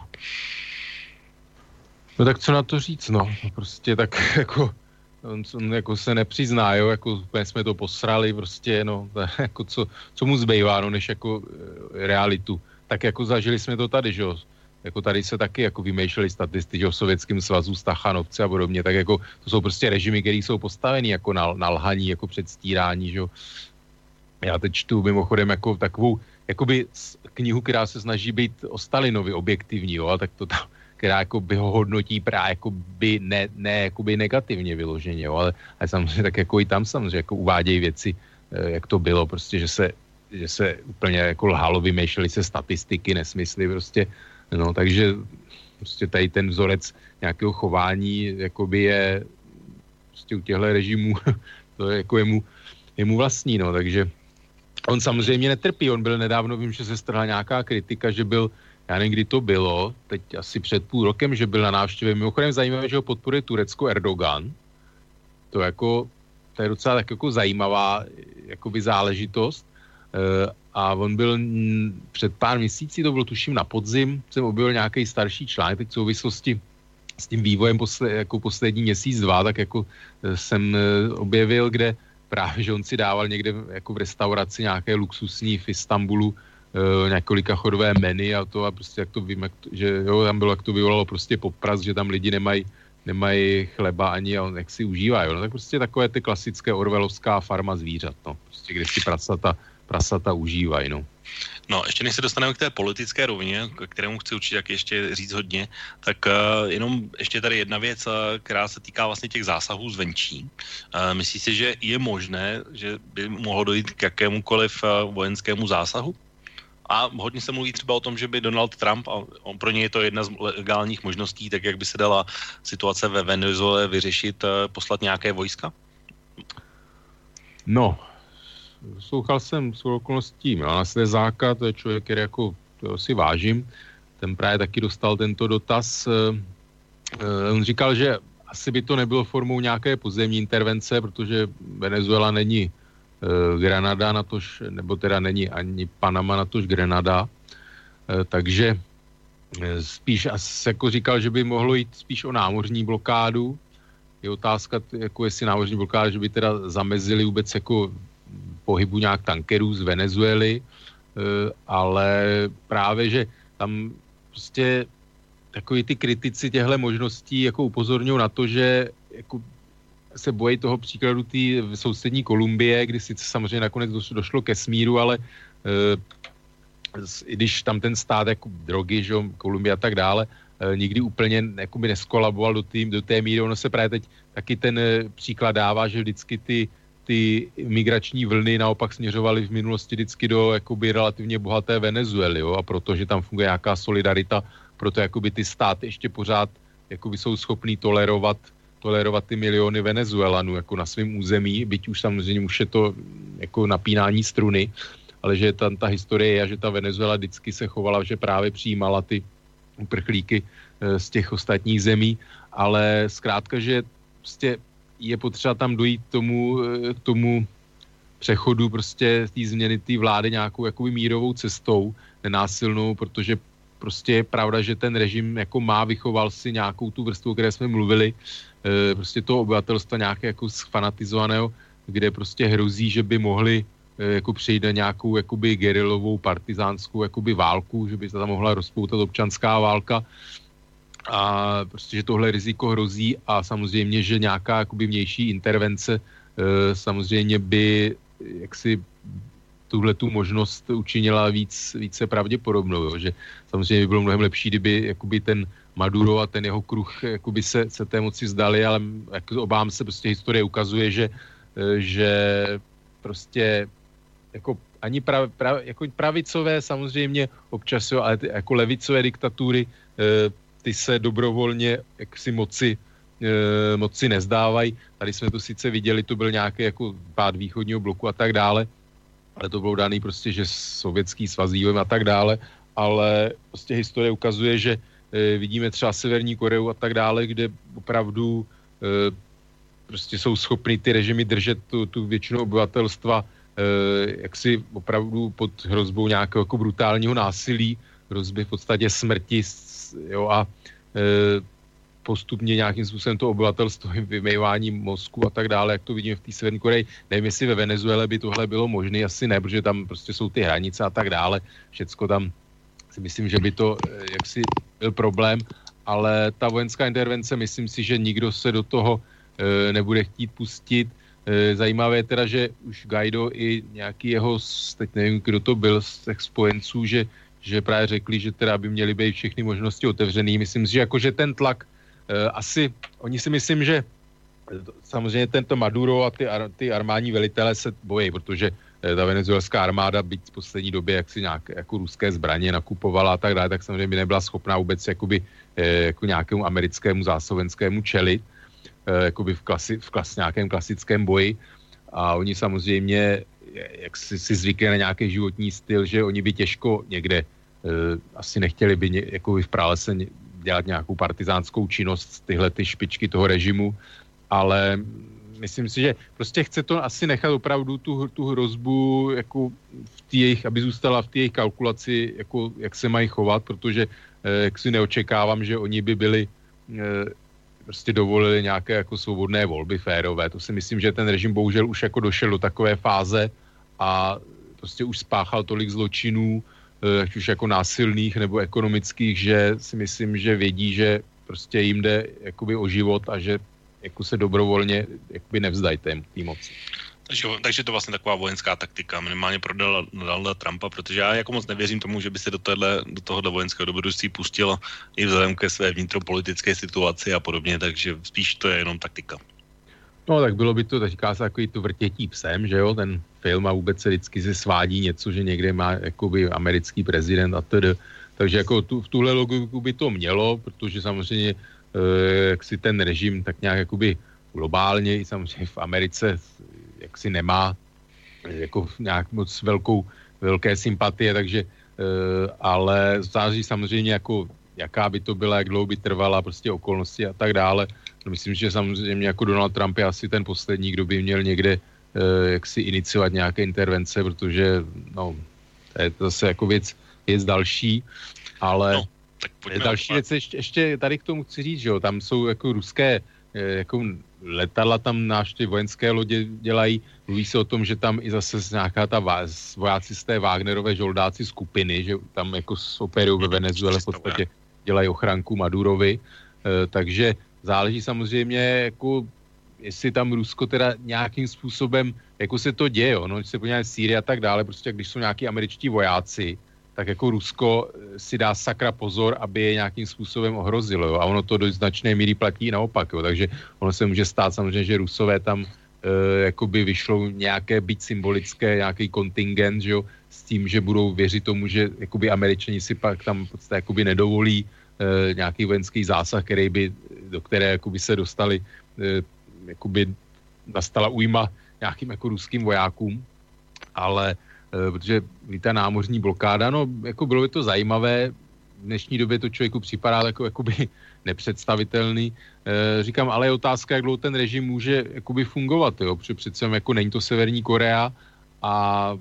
No tak co na to říct, no. Prostě tak jako on jako se nepřizná, jo, jako úplně jsme to posrali, prostě, no, jako co mu zbývá, no, než jako realitu. Tak jako zažili jsme to tady, že jo, jako tady se taky jako vymýšleli statistiky o Sovětském svazu, Stachanovci a podobně, tak jako to jsou prostě režimy, které jsou postaveny jako na lhaní, jako předstírání, že jo. Já teď čtu mimochodem jako takovou, jakoby knihu, která se snaží být o Stalinovi objektivní, jo, a tak to tam která jako by ho hodnotí právě jako by ne jako by negativně vyloženě, jo, ale samozřejmě tak jako i tam samozřejmě jako uvádějí věci, jak to bylo, prostě, že se úplně jako lhalo, vymýšleli se statistiky, nesmysly prostě, no, takže prostě tady ten vzorec nějakého chování jakoby je prostě u těchto režimů to je jako jemu vlastní, no, takže on samozřejmě netrpí, on byl nedávno, vím, že se strhla nějaká kritika, že byl, já nevím, kdy to bylo, teď asi před půl rokem, že byl na návštěvě. Mimochodem zajímavé, že ho podporuje Turecko Erdogan. To je docela tak jako zajímavá jakoby záležitost. A on byl před pár měsíci, to bylo tuším na podzim, jsem objevil nějaký starší článek, teď v souvislosti s tím vývojem jako poslední měsíc, 2, tak jako jsem objevil, kde právě, že on si dával někde jako v restauraci nějaké luxusní v Istanbulu několika chodové menu a to a prostě jak to vím, že jo, tam bylo, jak to vyvolalo prostě popras, že tam lidi nemají chleba ani a on jak si užívá, jo, no tak prostě takové ty klasické orwellovská farma zvířat, no, prostě kde si prasata užívají, no. No, ještě než se dostaneme k té politické rovině, k kterému chci určitě jak ještě říct hodně, tak jenom ještě tady jedna věc, která se týká vlastně těch zásahů zvenčí. Myslíš si, že je možné, že by mohlo dojít k jakémukoliv vojenskému zásahu? A hodně se mluví třeba o tom, že by Donald Trump, a pro něj je to jedna z legálních možností, tak jak by se dala situace ve Venezuele vyřešit, poslat nějaké vojska? No, poslouchal jsem s okolností Milana Slezáka, to je člověk, který jako to si vážím, ten právě taky dostal tento dotaz. On říkal, že asi by to nebylo formou nějaké pozemní intervence, protože Venezuela není Granada, natož, nebo teda není ani Panama, natož Grenada. Takže spíš asi jako říkal, že by mohlo jít spíš o námořní blokádu. Je otázka, jako jestli námořní blokáda, že by teda zamezili vůbec jako pohybu nějak tankerů z Venezuely, ale právě, že tam prostě takový ty kritici těchto možností jako upozorňují na to, že jako se bojí toho příkladu té sousední Kolumbie, kdy sice samozřejmě nakonec došlo ke smíru, ale i když tam ten stát jako drogy, že Kolumbie a tak dále, nikdy úplně jakoby neskolaboval do té míry. Ono se právě teď taky ten příklad dává, že vždycky ty migrační vlny naopak směřovaly v minulosti vždycky do jakoby relativně bohaté Venezuely, jo? A protože tam funguje nějaká solidarita, proto jakoby ty státy ještě pořád jakoby jsou schopný tolerovat ty miliony Venezuelanů jako na svém území, byť už samozřejmě už je to jako napínání struny, ale že tam ta historie je, že ta Venezuela vždycky se chovala, že právě přijímala ty uprchlíky z těch ostatních zemí, ale zkrátka, že prostě je potřeba tam dojít k tomu přechodu prostě té změny té vlády nějakou jakoby mírovou cestou, nenásilnou, protože prostě je pravda, že ten režim jako vychoval si nějakou tu vrstvu, o které jsme mluvili, prostě toho obyvatelstva nějaké jako sfanatizovaného, kde prostě hrozí, že by mohli jako přejít na nějakou jakoby gerilovou partizánskou jakoby válku, že by se tam mohla rozpoutat občanská válka a prostě, že tohle riziko hrozí a samozřejmě, že nějaká jakoby vnější intervence samozřejmě by jaksi tuhletu možnost učinila více pravděpodobnou, jo? Že samozřejmě by bylo mnohem lepší, kdyby jakoby ten Maduro a ten jeho kruh jakoby se té moci vzdali, ale jako obávám se, prostě historie ukazuje, že prostě jako ani jako pravicové samozřejmě občas, jo, ale jako levicové diktatury, ty se dobrovolně jaksi moci nezdávají. Tady jsme to sice viděli, to byl nějaký jako pád východního bloku a tak dále, ale to bylo daný prostě, že Sovětský svaz a tak dále, ale prostě historie ukazuje, že vidíme třeba Severní Koreu a tak dále, kde opravdu prostě jsou schopni ty režimy držet tu většinu obyvatelstva jaksi opravdu pod hrozbou nějakého jako brutálního násilí, hrozby v podstatě smrti, jo, a postupně nějakým způsobem to obyvatelstvo vymývání mozku a tak dále, jak to vidíme v té Severní Koreji. Nevím, jestli ve Venezuele by tohle bylo možné, asi ne, protože tam prostě jsou ty hranice a tak dále. Všecko tam si myslím, že by to jaksi byl problém, ale ta vojenská intervence, myslím si, že nikdo se do toho nebude chtít pustit. Zajímavé je teda, že už Guaido i nějaký jeho, teď nevím, kdo to byl z těch spojenců, že právě řekli, že teda by měly být všechny možnosti otevřený. Myslím si, že jakože ten tlak asi, oni si myslím, že samozřejmě tento Maduro a ty armádní velitelé se bojí, protože ta venezuelská armáda, byť v poslední době jaksi nějak jako ruské zbraně nakupovala a tak dále, tak samozřejmě by nebyla schopná vůbec jakoby, jako nějakému americkému zásovenskému čelit, jakoby v nějakém klasickém boji. A oni samozřejmě jak si zvykli na nějaký životní styl, že oni by těžko někde asi nechtěli by jakoby v pralese dělat nějakou partizánskou činnost, tyhle ty špičky toho režimu, ale myslím si, že prostě chce to asi nechat opravdu tu hrozbu jako aby zůstala v té jejich kalkulaci, jako jak se mají chovat, protože jak si neočekávám, že oni by byli prostě dovolili nějaké jako svobodné volby férové. To si myslím, že ten režim bohužel už jako došel do takové fáze a prostě už spáchal tolik zločinů, ať už jako násilných nebo ekonomických, že si myslím, že vědí, že prostě jim jde jakoby o život a že jako se dobrovolně jakoby nevzdají té moci. Takže to vlastně taková vojenská taktika, minimálně pro Donalda Trumpa, protože já jako moc nevěřím tomu, že by se do tohohle vojenského dobrodružství pustil i vzhledem ke své vnitropolitické situaci a podobně, takže spíš to je jenom taktika. No tak bylo by to, tak říká se takový to vrtětí psem, že jo, ten film a vůbec se vždycky se svádí něco, že někde má jakoby americký prezident a tedy. Takže jako v tuhle logiku by to mělo, protože samozřejmě jak si ten režim tak nějak jakoby globálně i samozřejmě v Americe jak si nemá jako nějak moc velké sympatie, takže ale záleží samozřejmě jako jaká by to byla, jak dlouho by trvala, prostě okolnosti a tak dále. No, myslím, že samozřejmě jako Donald Trump je asi ten poslední, kdo by měl někde jak si iniciovat nějaké intervence, protože no, to je zase jako věc další, ale no, další věc ještě tady k tomu chci říct, že jo, tam jsou jako ruské jako letadla tam náš ty vojenské lodě dělají, mluví se o tom, že tam i zase nějaká ta vojáci z té Wagnerové žoldáci skupiny, že tam jako operují ve Venezuele v podstatě dělají ochranku Madurovi, takže záleží samozřejmě jako jestli tam Rusko teda nějakým způsobem, jako se to děje, no, když se podíváme Sýrie a tak dále, prostě když jsou nějaký američtí vojáci, tak jako Rusko si dá sakra pozor, aby je nějakým způsobem ohrozilo, jo? A ono to do značné míry platí naopak, jo? Takže ono se může stát samozřejmě, že Rusové tam jakoby vyšlou nějaké byť symbolické, nějaký kontingent, že jo? S tím, že budou věřit tomu, že jakoby Američani si pak tam podstatě jakoby nedovolí nějaký vojenský zásah, do které jakoby se dostali, jakoby nastala újma nějakým jako ruským vojákům, ale protože ta námořní blokáda, no jako bylo by to zajímavé, v dnešní době to člověku připadá jakoby nepředstavitelný. Říkám, ale je otázka, jak dlouho ten režim může jakoby fungovat, jo, protože přece jako není to Severní Korea a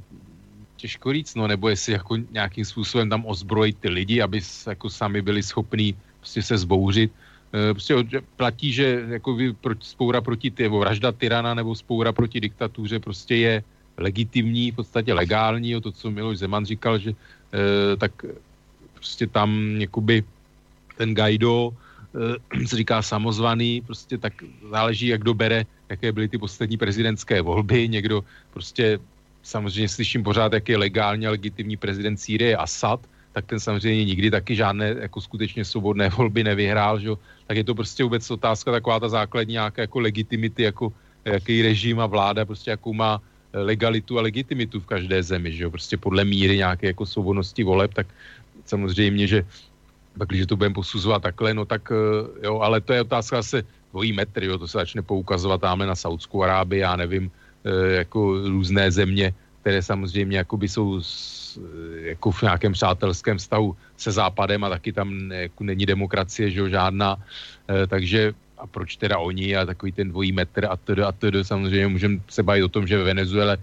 těžko říct, no, nebo jestli jako nějakým způsobem tam ozbrojit ty lidi, aby jako sami byli schopní prostě se zbouřit. Prostě platí, že jako spoura proti vražda tyrana nebo spoura proti diktatuře prostě je legitimní, v podstatě legální, to, co Miloš Zeman říkal, že tak prostě tam jakoby ten Guaido se říká samozvaný, prostě tak záleží, jak kdo bere, jaké byly ty poslední prezidentské volby, někdo prostě samozřejmě slyším pořád, jak je legálně a legitimní prezident Sýrie Asad, tak ten samozřejmě nikdy taky žádné jako skutečně svobodné volby nevyhrál, že? Tak je to prostě vůbec otázka taková ta základní nějaká jako legitimity, jako jaký režim a vláda prostě jakou má legalitu a legitimitu v každé zemi, že jo, prostě podle míry nějaké jako svobodnosti voleb, tak samozřejmě, že pak, když to budeme posuzovat takhle, no tak jo, ale to je otázka zase dvojí metr, jo, to se začne poukazovat tamhle na Saudskou Arábii, já nevím, jako různé země, které samozřejmě jakoby jsou jako v nějakém přátelském vztahu se Západem a taky tam jako není demokracie, že jo, žádná, takže a proč teda oni a takový ten dvojí metr a tedy samozřejmě můžeme se bavit o tom, že ve Venezuele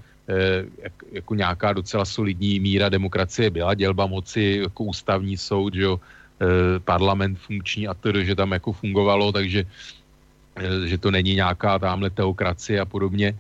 jako nějaká docela solidní míra demokracie byla, dělba moci, jako ústavní soud, že jo, parlament funkční a tedy, že tam jako fungovalo, takže že to není nějaká tamhle teokracie a podobně,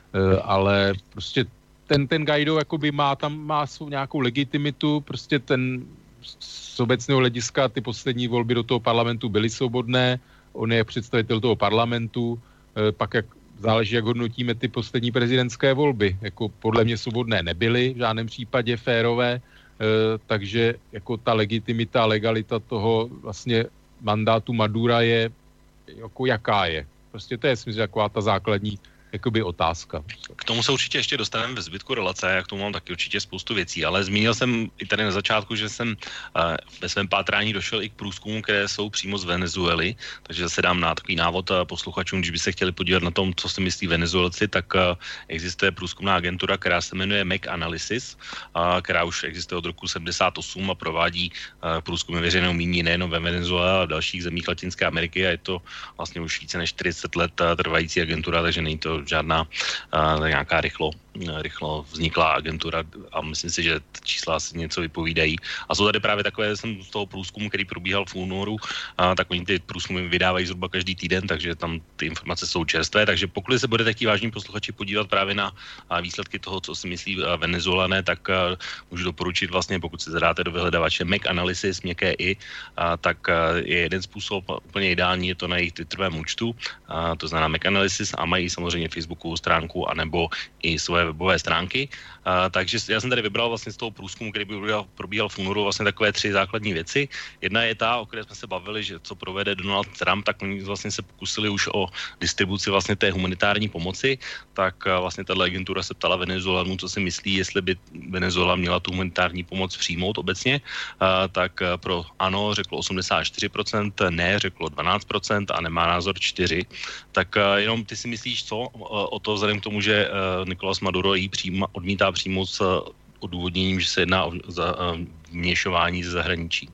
ale prostě ten Guaido jakoby má svou nějakou legitimitu, prostě ten z obecného hlediska ty poslední volby do toho parlamentu byly svobodné, on je představitel toho parlamentu, pak jak záleží, jak hodnotíme ty poslední prezidentské volby. Jako podle mě svobodné nebyly, v žádném případě férové, takže jako ta legitimita a legalita toho vlastně mandátu Madura je jako jaká je. Prostě to je, myslím, taková ta základní jakoby otázka. K tomu se určitě ještě dostaneme ve zbytku relace, já k tomu mám taky určitě spoustu věcí, ale zmínil jsem i tady na začátku, že jsem ve svém pátrání došel i k průzkumům, které jsou přímo z Venezuely, takže se dám na takový návod posluchačům, když by se chtěli podívat na tom, co si myslí Venezuelci, tak existuje průzkumná agentura, která se jmenuje Mac Analysis, která už existuje od roku 78 a provádí průzkumy veřejného mínění nejen ve Venezuele, ale v dalších zemích Latinské Ameriky a je to vlastně už více než 40 let trvající agentura, takže není to žádná nějaká rychlo vzniklá agentura a myslím si, že čísla asi něco vypovídají. A jsou tady právě takové, jsem z toho průzkumu, který probíhal v únoru, tak oni ty průzkumy vydávají zhruba každý týden, takže tam ty informace jsou čerstvé, takže pokud se budete chtít vážní posluchači podívat právě na výsledky toho, co si myslí Venezuelané, tak můžu doporučit vlastně, pokud si zadáte do vyhledavače Mac Analysis, měkké i, tak je jeden způsob, úplně ideální, je to na jejich Twitterovém účtu, to znamená Mac Analysis a mají samozřejmě Facebookovou stránku, anebo i svoje webové stránky. Takže já jsem tady vybral vlastně z toho průzkumu, který probíhal v únoru, vlastně takové 3 základní věci. Jedna je ta, o které jsme se bavili, že co provede Donald Trump, tak oni vlastně se pokusili už o distribuci vlastně té humanitární pomoci. Tak vlastně tato agentura se ptala Venezuelanů, co si myslí, jestli by Venezuela měla tu humanitární pomoc přijmout obecně. Tak pro ano řeklo 84%, ne řeklo 12% a nemá názor 4%. Tak jenom ty si myslíš co o to vzhledem k tomu, že Nicolás Maduro jí odmítá přijmout s odůvodněním, že se jedná o vměšování ze zahraničí.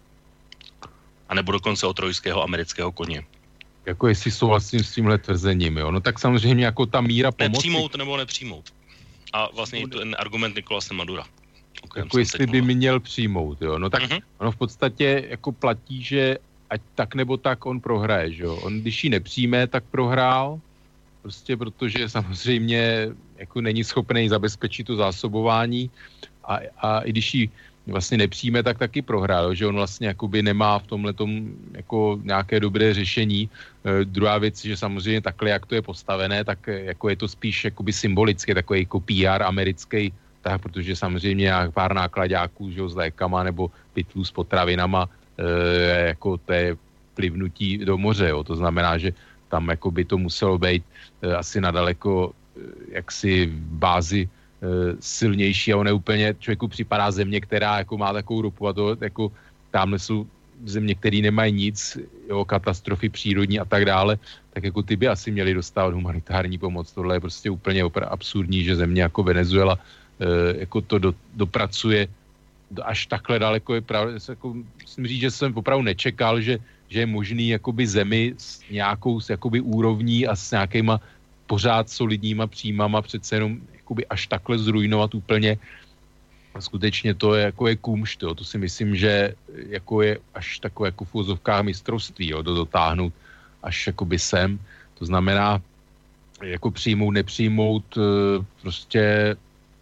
A nebo dokonce o trojského amerického koně. Jako jestli souhlasím s tímhle tvrzením, jo. No tak samozřejmě jako ta míra pomoci... Nepřijmout nebo nepřijmout. A vlastně ten argument Nicolase Madura. Jako jestli by měl přijmout, jo. No tak ono v podstatě jako platí, že ať tak nebo tak on prohraje, že jo. On když ji nepřijme, tak prohrál. Prostě protože samozřejmě jako není schopný zabezpečit to zásobování a i když ji vlastně nepřijme, tak taky prohrál, že on vlastně jakoby nemá v tomhletom jako nějaké dobré řešení. Druhá věc, že samozřejmě takhle, jak to je postavené, tak jako je to spíš jakoby symbolicky, takový jako PR americký, tak protože samozřejmě pár nákladáků, že s lékama nebo pytlů s potravinama, jako to je plivnutí do moře, jo. To znamená, že tam jako by to muselo být asi nadaleko jaksi bázi silnější a on je úplně, člověku připadá země, která jako má takovou ropu a to jako tamhle jsou země, které nemají nic, jo, katastrofy přírodní a tak dále, tak jako ty by asi měli dostávat humanitární pomoc. Tohle je prostě úplně absurdní, že země jako Venezuela jako to dopracuje až takhle daleko. Je právě, jako, musím říct, že jsem opravdu nečekal, že je možný jakoby zemi s nějakou jakoby úrovní a s nějakýma pořád solidníma příjmama přece jenom jakoby až takhle zrujnovat úplně. A skutečně to je jako je kumšt, jo. To si myslím, že jako je až takové jako v úvozovkách mistrovství, jo, to dotáhnout až jakoby sem. To znamená jako přijmout, nepřijmout, prostě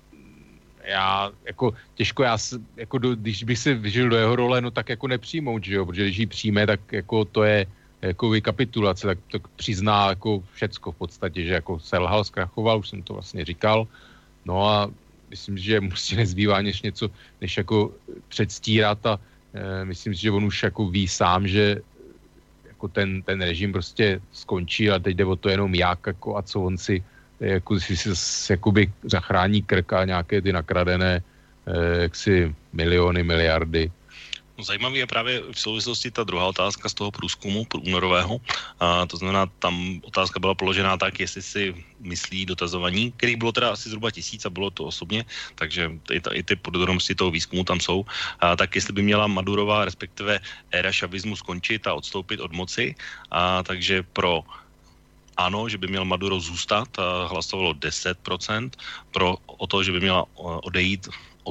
já jako těžko, jako když bych se vyžil do jeho role, no tak jako nepřijmout, že jo, protože když ji přijme, tak jako to je jako vykapitulace, tak přizná jako všecko v podstatě, že jako selhal, zkrachoval, už jsem to vlastně říkal, no a myslím, že musí nezbývá něco, než jako předstírat a myslím si, že on už jako ví sám, že jako ten režim prostě skončí a teď jde o to jenom jak jako a co on si jako si jakoby zachrání krk a nějaké ty nakradené jaksi miliony, miliardy. No, zajímavý je právě v souvislosti ta druhá otázka z toho průzkumu únorového. To znamená, tam otázka byla položená tak, jestli si myslí dotazovaní, kterých bylo teda asi zhruba 1000 a bylo to osobně, takže i ty podrobnosti toho výzkumu tam jsou. Tak jestli by měla Madurová, respektive éra šavismu skončit a odstoupit od moci, takže pro ano, že by měl Maduro zůstat, hlasovalo 10%, o to, že by měla odejít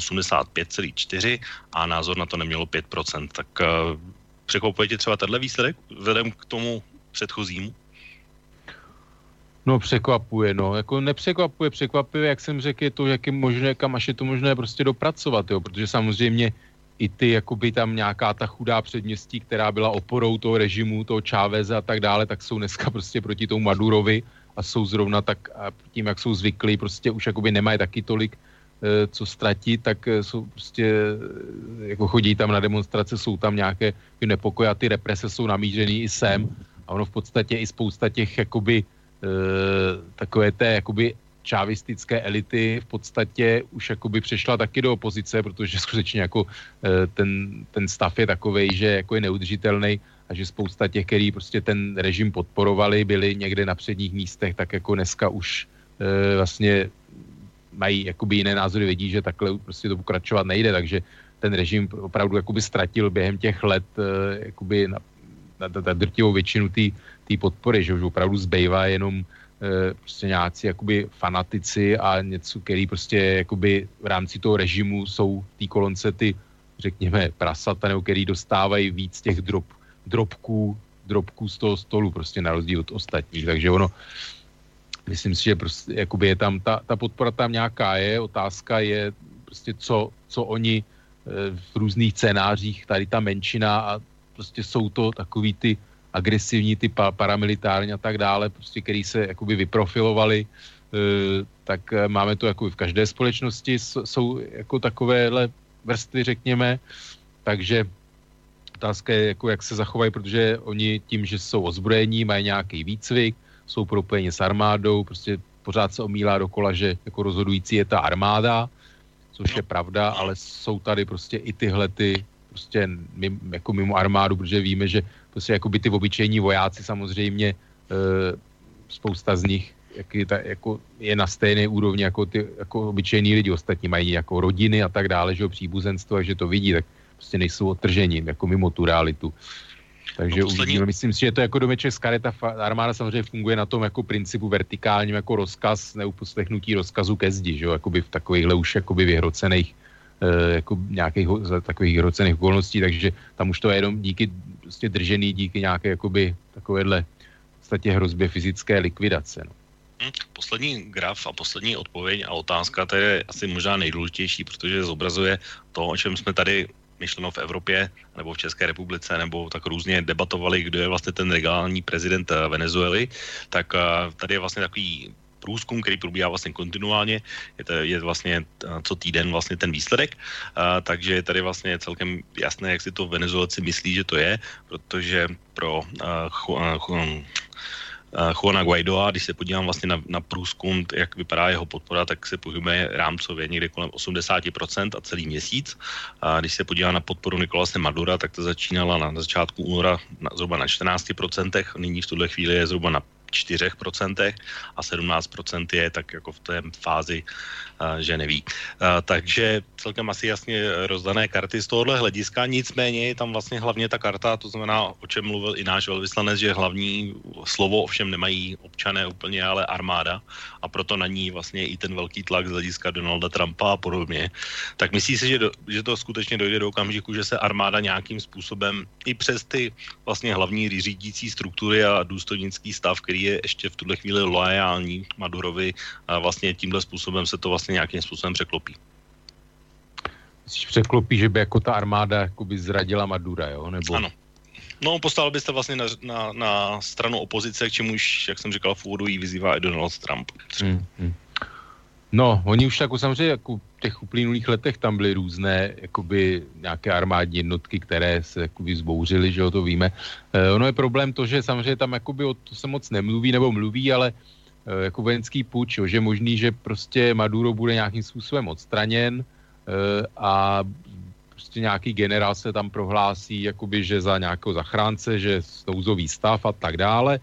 85,4% a názor na to nemělo 5%. Tak překvapuje tě třeba tenhle výsledek vzhledem k tomu předchozímu? No překvapuje, no. Jako nepřekvapuje, překvapuje, jak jsem řekl, je to, jak je možné, kam až je to možné prostě dopracovat, jo, protože samozřejmě i ty, jakoby tam nějaká ta chudá předměstí, která byla oporou toho režimu, toho Cháveze a tak dále, tak jsou dneska prostě proti tomu Madurovi a jsou zrovna tak a tím, jak jsou zvyklí, prostě už jakoby nemají taky tolik co ztratit, tak jsou prostě, jako chodí tam na demonstrace, jsou tam nějaké nepokoje a ty represe jsou namířený i sem a ono v podstatě i spousta těch jakoby takové té jakoby čávistické elity v podstatě už jakoby přešla taky do opozice, protože skutečně jako ten stav je takovej, že jako je neudržitelný a že spousta těch, který prostě ten režim podporovali, byli někde na předních místech, tak jako dneska už vlastně mají jakoby jiné názory, vědí, že takhle prostě to pokračovat nejde, takže ten režim opravdu jakoby ztratil během těch let jakoby na drtivou většinu té podpory, že už opravdu zbývá jenom prostě nějací jakoby fanatici a něco, který prostě jakoby v rámci toho režimu jsou té kolonce ty, řekněme, prasata, nebo který dostávají víc těch drobků z toho stolu, prostě na rozdíl od ostatních, takže ono myslím si, že prostě jakoby je tam ta podpora tam nějaká je, otázka je prostě co oni v různých scénářích, tady ta menšina a prostě jsou to takový ty agresivní, ty paramilitární a tak dále, prostě který se jakoby vyprofilovali tak máme to jako v každé společnosti, jsou jako takovéhle vrstvy, řekněme, takže otázka je, jako jak se zachovají, protože oni tím, že jsou ozbrojení, mají nějaký výcvik, jsou propojeni s armádou, prostě pořád se omílá dokola, že jako rozhodující je ta armáda, což je pravda, ale jsou tady prostě i tyhle ty prostě jako mimo armádu, protože víme, že prostě jako by ty obyčejní vojáci samozřejmě spousta z nich jako je na stejné úrovni jako ty jako obyčejní lidi, ostatní mají jako rodiny a tak dále, že příbuzenstvo, takže to vidí, tak prostě nejsou odtržení jako mimo tu realitu. Takže uvidíme, myslím si, že to jako domeček z karet, ta armáda samozřejmě funguje na tom jako principu vertikálním jako rozkaz, neuposlechnutí rozkazu ke zdi, že jo, jakoby v takovýchhle už jakoby vyhrocených jako nějakých takových vyhrocených okolností, takže tam už to je jenom díky prostě držený, díky nějaké jakoby takovéhle v podstatě hrozbě fyzické likvidace, no. Poslední graf a poslední odpověď a otázka, to je asi možná nejdůležitější, protože zobrazuje to, o čem jsme tady myšleno v Evropě nebo v České republice, nebo tak různě debatovali, kdo je vlastně ten legální prezident Venezuely, tak tady je vlastně takový průzkum, který probíhá vlastně kontinuálně, je vlastně co týden vlastně ten výsledek, takže je tady vlastně celkem jasné, jak si to Venezuelci myslí, že to je, protože pro Juana Guaidoa, když se podívám vlastně na průzkum, jak vypadá jeho podpora, tak se pohybuje rámcově někde kolem 80% a celý měsíc. A když se podívám na podporu Nicolase Madura, tak to začínala na začátku února zhruba na 14%, nyní v tuhle chvíli je zhruba na 4% a 17% je tak jako v té fázi, že neví. Takže celkem asi jasně rozdané karty z tohohle hlediska, nicméně je tam vlastně hlavně ta karta, to znamená, o čem mluvil i náš velvyslanec, že hlavní slovo ovšem nemají občané úplně, ale armáda a proto na ní vlastně i ten velký tlak z hlediska Donalda Trumpa a podobně. Tak myslí si, že to skutečně dojde do okamžiku, že se armáda nějakým způsobem i přes ty vlastně hlavní řídící struktury a důstojnický stav, který je ještě v tuhle chvíli loajální Madurovi, a vlastně tímhle způsobem se to vlastně nějakým způsobem překlopí. Myslíš překlopí, že by jako ta armáda jakoby zradila Madura, jo? Nebo... Ano. No, postavil byste vlastně na stranu opozice, k čemuž, jak jsem říkal, v úvodu jí vyzývá i Donald Trump. No, oni už jako samozřejmě jako v těch uplynulých letech tam byly různé jakoby nějaké armádní jednotky, které se jakoby zbouřily, že jo, to víme. Ono je problém to, že samozřejmě tam jakoby o to se moc nemluví, nebo mluví, ale jako vojenský puč, jo, že je možný, že prostě Maduro bude nějakým způsobem odstraněn a prostě nějaký generál se tam prohlásí, jakoby, že za nějakého zachránce, že nouzový stav a tak dále.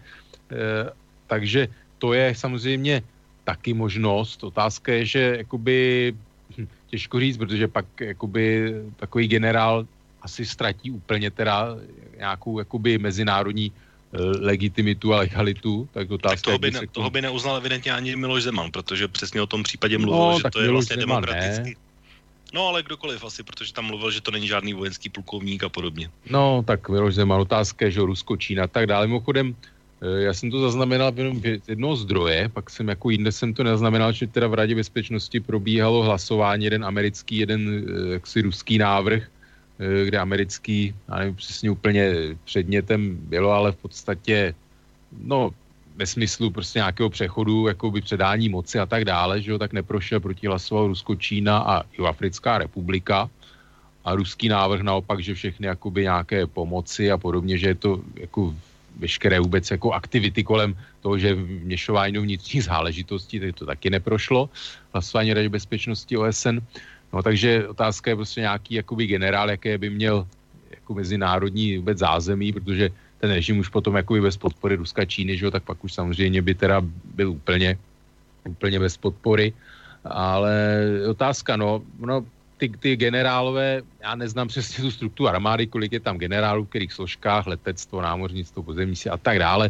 Takže to je samozřejmě taky možnost. Otázka je, že jakoby těžko říct, protože pak jakoby takový generál asi ztratí úplně teda nějakou jakoby mezinárodní legitimitu a legalitu. Tak otázka tak toho by neuznal evidentně ani Miloš Zeman, protože přesně o tom případě mluvil, že to je vlastně Zeman, demokratický. Ne. No, ale kdokoliv asi, protože tam mluvil, že to není žádný vojenský plukovník a podobně. No, tak Miloš Zeman, otázka je, že Rusko, Čína a tak dále. Mimochodem, já jsem to zaznamenal jenom z jednoho zdroje, pak jsem jako jinde jsem to nezaznamenal, že teda v Radě bezpečnosti probíhalo hlasování, jeden americký, jeden jaksi ruský návrh, kde americký, já nevím přesně úplně předmětem bylo, ale v podstatě, no, ve smyslu prostě nějakého přechodu, jakoby předání moci a tak dále, že jo, tak neprošel, proti hlasoval Rusko, Čína a Jihoafrická republika. A ruský návrh naopak, že všechny jakoby nějaké pomoci a podobně, že je to jako veškeré vůbec jako aktivity kolem toho, že vměšování do vnitřních záležitostí, tak to taky neprošlo. Hlasování Rady bezpečnosti OSN. No takže otázka je prostě nějaký jakoby generál, jaké by měl jako mezinárodní vůbec zázemí, protože ten režim už potom jakoby bez podpory Ruska, Číny, že jo, tak pak už samozřejmě by teda byl úplně bez podpory. Ale otázka, no ty generálové, já neznám přesně tu strukturu armády, kolik je tam generálů, v kterých složkách, letectvo, námořnictvo, pozemní síly a tak dále,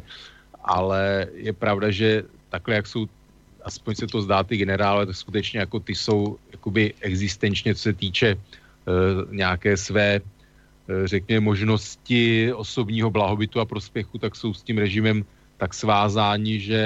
ale je pravda, že takhle, jak jsou, aspoň se to zdá, ty generálové, tak skutečně jako ty jsou jakoby existenčně, co se týče nějaké své, řekněme, možnosti osobního blahobytu a prospěchu, tak jsou s tím režimem tak svázáni, že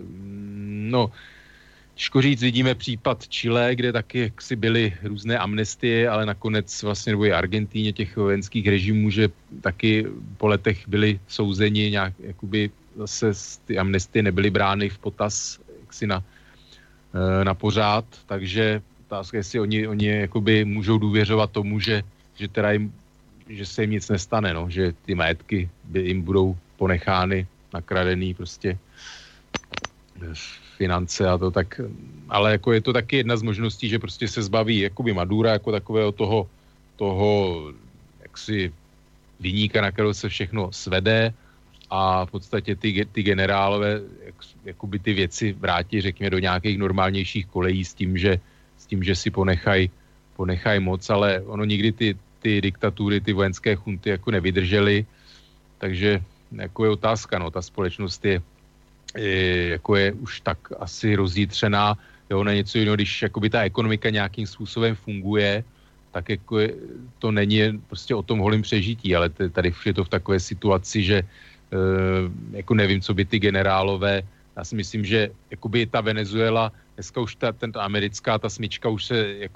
no, těžko říct, vidíme případ Chile, kde taky jaksi byly různé amnestie, ale nakonec vlastně, nebo i Argentíně těch vojenských režimů, že taky po letech byli souzeni nějak, jakoby zase ty amnestie nebyly brány v potaz jaksi na na pořád, takže otázka, jestli oni jakoby můžou důvěřovat tomu, že se jim nic nestane, no, že ty majetky jim budou ponechány, nakradený prostě finance a to tak, ale jako je to taky jedna z možností, že prostě se zbaví jakoby Madura jako takového toho jaksi viníka, na kterého se všechno svede a v podstatě ty generálové jakoby ty věci vrátí, řekněme, do nějakých normálnějších kolejí s tím, že si ponechají moc, ale ono nikdy ty diktatury, ty vojenské chunty jako nevydržely, takže jako je otázka, no, ta společnost je už tak asi rozjitřená, jo, na něco jiného, když jakoby ta ekonomika nějakým způsobem funguje, tak jako to není prostě o tom holým přežití, ale tady je to v takové situaci, že jako nevím, co by ty generálové, já si myslím, že jakoby ta Venezuela, dneska už ta americká, ta smyčka už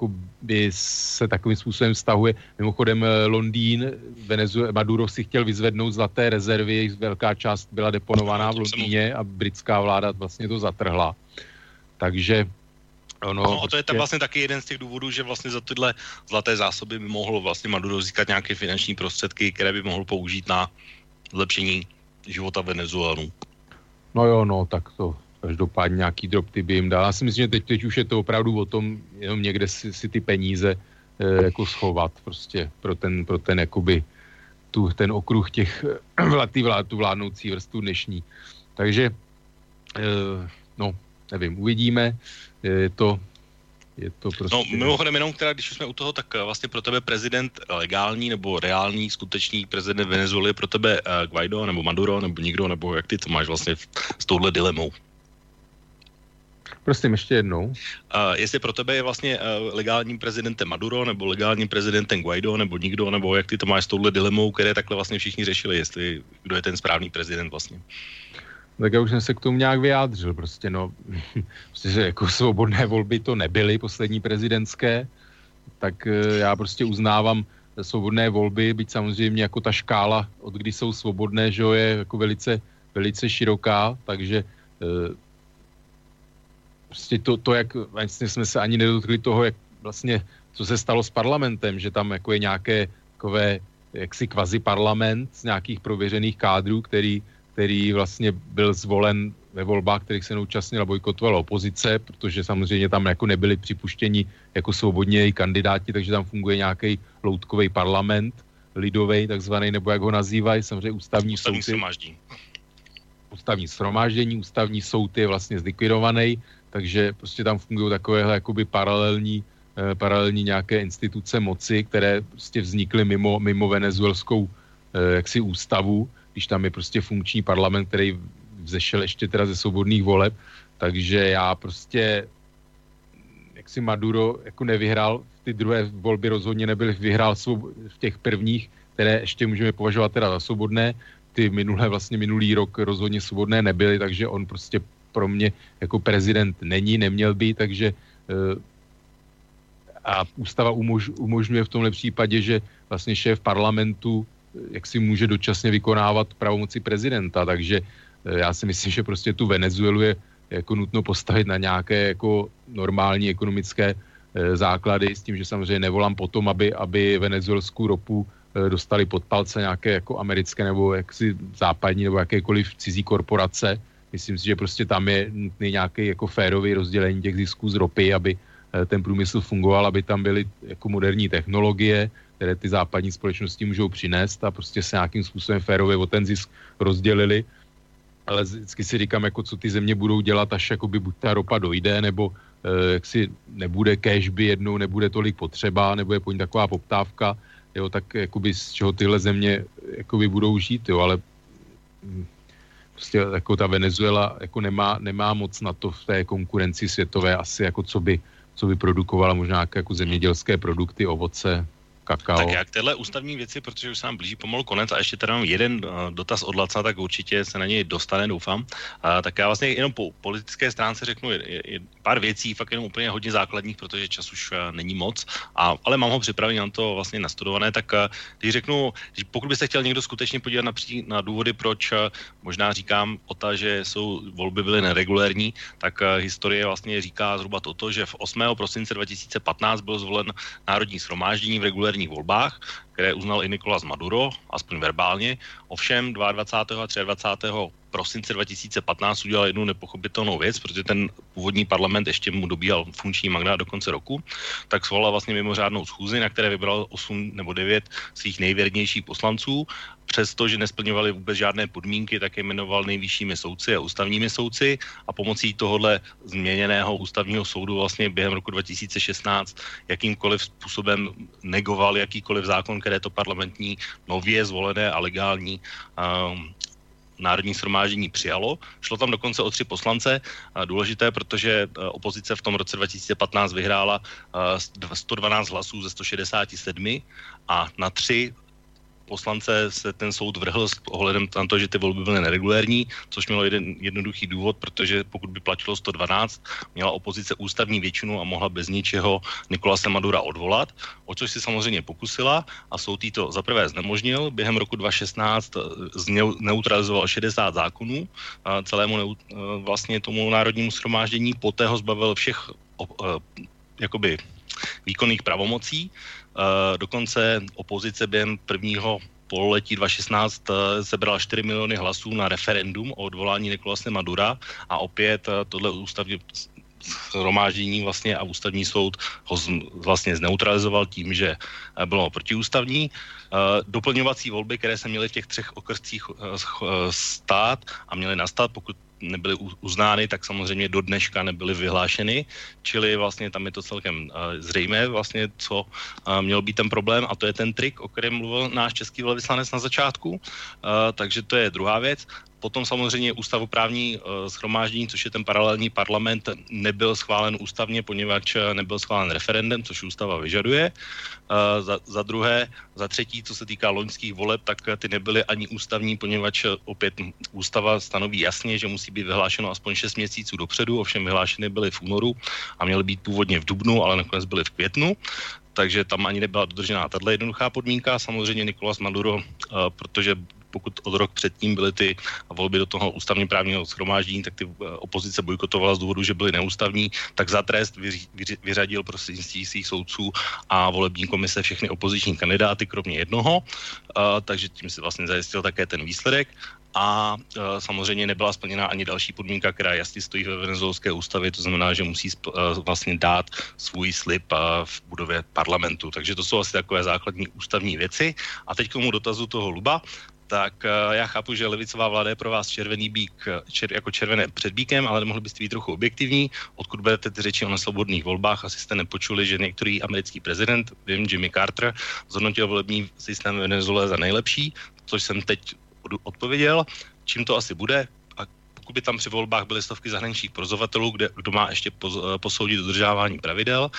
se takovým způsobem vztahuje. Mimochodem Londýn, Maduro si chtěl vyzvednout zlaté rezervy, jejich velká část byla deponovaná v Londýně a britská vláda vlastně to zatrhla. Takže No, a to je tam vlastně taky jeden z těch důvodů, že vlastně za tyhle zlaté zásoby by mohl vlastně Maduro získat nějaké finanční prostředky, které by mohl použít na zlepšení života Venezuelanů. No jo, no, tak to každopádně nějaký drobty by jim dal. Já si myslím, že teď už je to opravdu o tom, jenom někde si ty peníze jako schovat prostě pro ten jakoby ten okruh těch tu vládnoucí vrstvu dnešní. Takže no, nevím, uvidíme. Je to prostě... No, mimochodem jenom, když jsme u toho, tak vlastně pro tebe prezident legální nebo reální, skutečný prezident Venezuely je pro tebe Guaido nebo Maduro nebo nikdo, nebo jak ty to máš vlastně s touhle dilemou? Prosím, ještě jednou. Jestli pro tebe je vlastně legálním prezidentem Maduro nebo legálním prezidentem Guaido nebo nikdo, nebo jak ty to máš s touhle dilemou, které takhle vlastně všichni řešili, jestli kdo je ten správný prezident vlastně? Tak já už jsem se k tomu nějak vyjádřil, prostě no, prostě jako svobodné volby to nebyly, poslední prezidentské, tak já prostě uznávám svobodné volby, byť samozřejmě jako ta škála, od kdy jsou svobodné, že je jako velice, velice široká, takže prostě to jak vlastně jsme se ani nedotkli toho, jak vlastně, co se stalo s parlamentem, že tam jako je nějaké takové jaksi kvazi parlament z nějakých prověřených kádrů, který vlastně byl zvolen ve volbách, kterých se neúčastnila, bojkotovala opozice, protože samozřejmě tam jako nebyli připuštěni jako svobodní kandidáti, takže tam funguje nějaký loutkový parlament, lidovej takzvaný, nebo jak ho nazývají, samozřejmě ústavní shromáždění, ústavní soud je vlastně zlikvidovaný, takže prostě tam fungují takovéhle jakoby paralelní nějaké instituce moci, které prostě vznikly mimo venezuelskou jaksi ústavu, když tam je prostě funkční parlament, který vzešel ještě teda ze svobodných voleb, takže já prostě jaksi Maduro jako nevyhrál, ty druhé volby rozhodně nebyly, vyhrál v těch prvních, které ještě můžeme považovat teda za svobodné, ty minulý rok rozhodně svobodné nebyly, takže on prostě pro mě jako prezident neměl být, takže a ústava umožňuje v tomhle případě, že vlastně šéf parlamentu jak si může dočasně vykonávat pravomoci prezidenta, takže já si myslím, že prostě tu Venezuelu je jako nutno postavit na nějaké jako normální ekonomické základy s tím, že samozřejmě nevolám potom, aby venezuelskou ropu dostali pod palce nějaké jako americké nebo jaksi západní nebo jakékoliv cizí korporace. Myslím si, že prostě tam je nutný nějaký jako férový rozdělení těch zisků z ropy, aby ten průmysl fungoval, aby tam byly jako moderní technologie, které ty západní společnosti můžou přinést a prostě se nějakým způsobem férově o ten zisk rozdělili. Ale vždycky si říkám, jako co ty země budou dělat, až jakoby buď ta ropa dojde, nebo jak si nebude cash by jednou, nebude tolik potřeba, nebo je po ní taková poptávka, jo, tak jakoby z čeho tyhle země jakoby budou žít, jo, ale prostě jako ta Venezuela jako nemá moc na to v té konkurenci světové asi jako co by produkovala možná jako zemědělské produkty, ovoce, kakao. Tak jak tyhle ústavní věci, protože už se nám blíží pomalu konec a ještě tady mám jeden dotaz od Laca, tak určitě se na něj dostane, doufám. Tak já vlastně jenom po politické stránce řeknu pár věcí, fakt jenom úplně hodně základních, protože čas už není moc, ale mám ho připravený, mám to vlastně nastudované, tak když řeknu, pokud byste chtěl někdo skutečně podívat na důvody, proč možná říkám že volby byly neregulérní, tak historie vlastně říká zhruba toto, že v 8. prosince 2015 byl zvolen Národní shromáždění v regulérních volbách, které uznal i Nicolás Maduro, aspoň verbálně. Ovšem 22. a 23. prosince 2015 udělal jednu nepochopitelnou věc, protože ten původní parlament ještě mu dobíhal funkční mandát do konce roku, tak svolal vlastně mimořádnou schůzi, na které vybral 8 nebo 9 svých nejvěrnějších poslanců. Přestože nesplňovali vůbec žádné podmínky, tak je jmenoval nejvyššími soudci a ústavními soudci a pomocí tohohle změněného ústavního soudu vlastně během roku 2016 jakýmkoliv způsobem negoval jakýkoliv zákon, které to parlamentní nově zvolené a legální Národní shromáždění přijalo. Šlo tam dokonce o 3 poslance. Důležité, protože opozice v tom roce 2015 vyhrála 112 hlasů ze 167 a na 3 poslance se ten soud vrhl s ohledem na to, že ty volby byly neregulérní, což mělo jeden jednoduchý důvod, protože pokud by platilo 112, měla opozice ústavní většinu a mohla bez ničeho Nicolase Madura odvolat, o což si samozřejmě pokusila a soud jí to zaprvé znemožnil. Během roku 2016 neutralizoval 60 zákonů celému vlastně tomu národnímu shromáždění, poté ho zbavil všech jakoby výkonných pravomocí. Dokonce opozice během prvního pololetí 2016 sebrala 4 miliony hlasů na referendum o odvolání Nicolase Madura a opět tohle ústavní shromáždění vlastně a ústavní soud ho vlastně zneutralizoval tím, že bylo protiústavní. Doplňovací volby, které se měly v těch 3 okrscích stát a měly nastat, pokud nebyly uznány, tak samozřejmě do dneška nebyly vyhlášeny, čili vlastně tam je to celkem zřejmé vlastně, co měl být ten problém a to je ten trik, o kterém mluvil náš český velvyslanec na začátku, takže to je druhá věc. Potom samozřejmě ústavoprávní shromáždění, což je ten paralelní parlament, nebyl schválen ústavně, poněvadž nebyl schválen referendem, což ústava vyžaduje. Za druhé, za třetí, co se týká loňských voleb, tak ty nebyly ani ústavní, poněvadž opět ústava stanoví jasně, že musí být vyhlášeno aspoň 6 měsíců dopředu, ovšem vyhlášeny byly v únoru a měly být původně v dubnu, ale nakonec byly v květnu. Takže tam ani nebyla dodržená tato jednoduchá podmínka. Samozřejmě Nicolás Maduro, protože pokud od rok předtím byly ty volby do toho ústavně právního shromáždění, tak ty opozice bojkotovala z důvodu, že byly neústavní, tak za trest vyřadil prostřednictvím svých soudců a volební komise všechny opoziční kandidáty, kromě jednoho, takže tím si vlastně zajistil také ten výsledek. A samozřejmě nebyla splněna ani další podmínka, která jasně stojí ve venezuelské ústavě, to znamená, že musí vlastně dát svůj slib v budově parlamentu. Takže to jsou asi takové základní ústavní věci. A teď k tomu dotazu toho Luba. Tak já chápu, že levicová vláda je pro vás červený bík, jako červené před bíkem, ale mohli byste být trochu objektivní. Odkud berete ty řeči o neslobodných volbách? Asi jste nepočuli, že některý americký prezident, Jimmy Carter, zhodnotil volební systém v Venezuele za nejlepší, což jsem teď odpověděl. Čím to asi bude? A pokud by tam při volbách byly stovky zahraničních pozorovatelů, kdo má ještě posoudit dodržávání pravidel,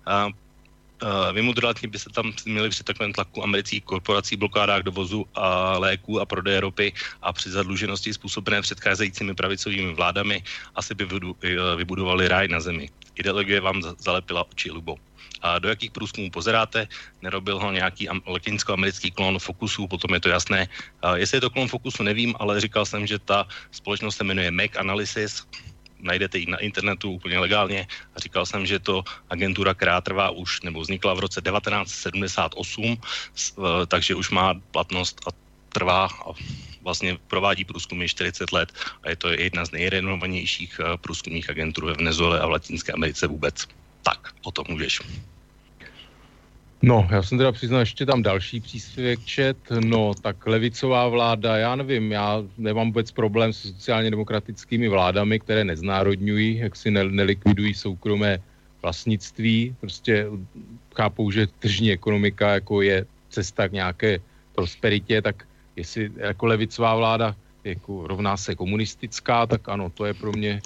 vymudrlatně by se tam měli při takovém tlaku amerických korporací, blokádách dovozu a léků a prodeje ropy a při zadluženosti způsobené předcházejícími pravicovými vládami asi by vybudovali ráj na zemi. Ideologie vám zalepila oči, Lubo. A do jakých průzkumů pozeráte? Nerobil ho nějaký latinskoamerický klon Focusu, potom je to jasné. Jestli je to klon Focusu, nevím, ale říkal jsem, že ta společnost se jmenuje Mac Analysis, najdete ji na internetu úplně legálně a říkal jsem, že je to agentura, která trvá už, nebo vznikla v roce 1978, takže už má platnost a trvá a vlastně provádí průzkumy 40 let a je to jedna z nejrenomovanějších průzkumných agentur ve Venezuele a v Latinské Americe vůbec. Tak, o tom můžeš. No, já jsem teda přiznal, ještě tam další příspěvek čet, no, tak levicová vláda, já nevím, já nemám vůbec problém s sociálně demokratickými vládami, které neznárodňují, jak si nelikvidují soukromé vlastnictví, prostě chápou, že tržní ekonomika jako je cesta k nějaké prosperitě, tak jestli jako levicová vláda jako rovná se komunistická, tak ano, to je pro mě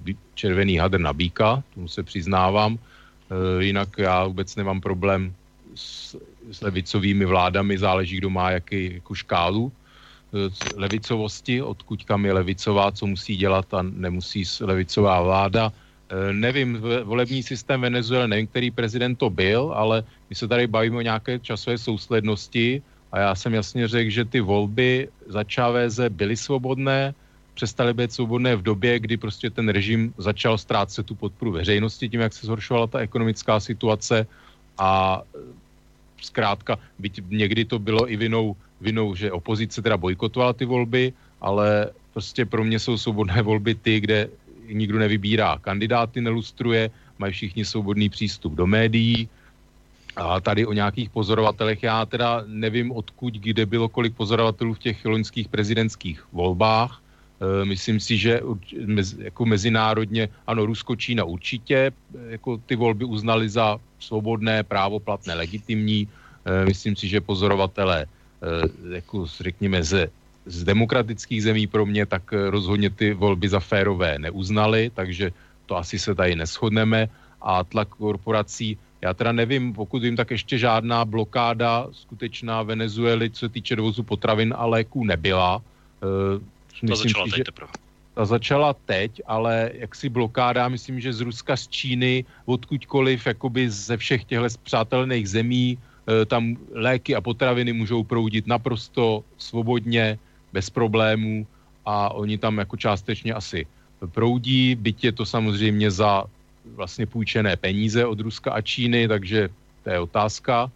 červený hadr na býka, tomu se přiznávám. Jinak já vůbec nemám problém s levicovými vládami, záleží, kdo má jakou škálu levicovosti, odkud kam je levicová, co musí dělat a nemusí levicová vláda. Nevím, volební systém Venezuely, nevím, který prezident to byl, ale my se tady bavíme o nějaké časové souslednosti a já jsem jasně řekl, že ty volby za Cháveze byly svobodné, přestaly být svobodné v době, kdy prostě ten režim začal ztrácet tu podporu veřejnosti tím, jak se zhoršovala ta ekonomická situace a zkrátka, byť někdy to bylo i vinou, že opozice teda bojkotovala ty volby, ale prostě pro mě jsou svobodné volby ty, kde nikdo nevybírá kandidáty, nelustruje, mají všichni svobodný přístup do médií. A tady o nějakých pozorovatelech, já teda nevím odkud, kde bylo kolik pozorovatelů v těch loňských prezidentských volbách. Myslím si, že jako mezinárodně, ano, Rusko, Čína určitě, jako ty volby uznali za svobodné, právoplatné, legitimní. Myslím si, že pozorovatelé, jako řekněme, z demokratických zemí pro mě, tak rozhodně ty volby za férové neuznali, takže to asi se tady neshodneme. A tlak korporací, já teda nevím, pokud vím, tak ještě žádná blokáda skutečná Venezuely, co se týče dovozu potravin a léků, nebyla. Ta začala teď, ale jaksi blokáda, myslím, že z Ruska, z Číny, odkudkoliv, jakoby ze všech těchto spřátelených zemí, tam léky a potraviny můžou proudit naprosto svobodně, bez problémů a oni tam jako částečně asi proudí, byť je to samozřejmě za vlastně půjčené peníze od Ruska a Číny, takže to je otázka.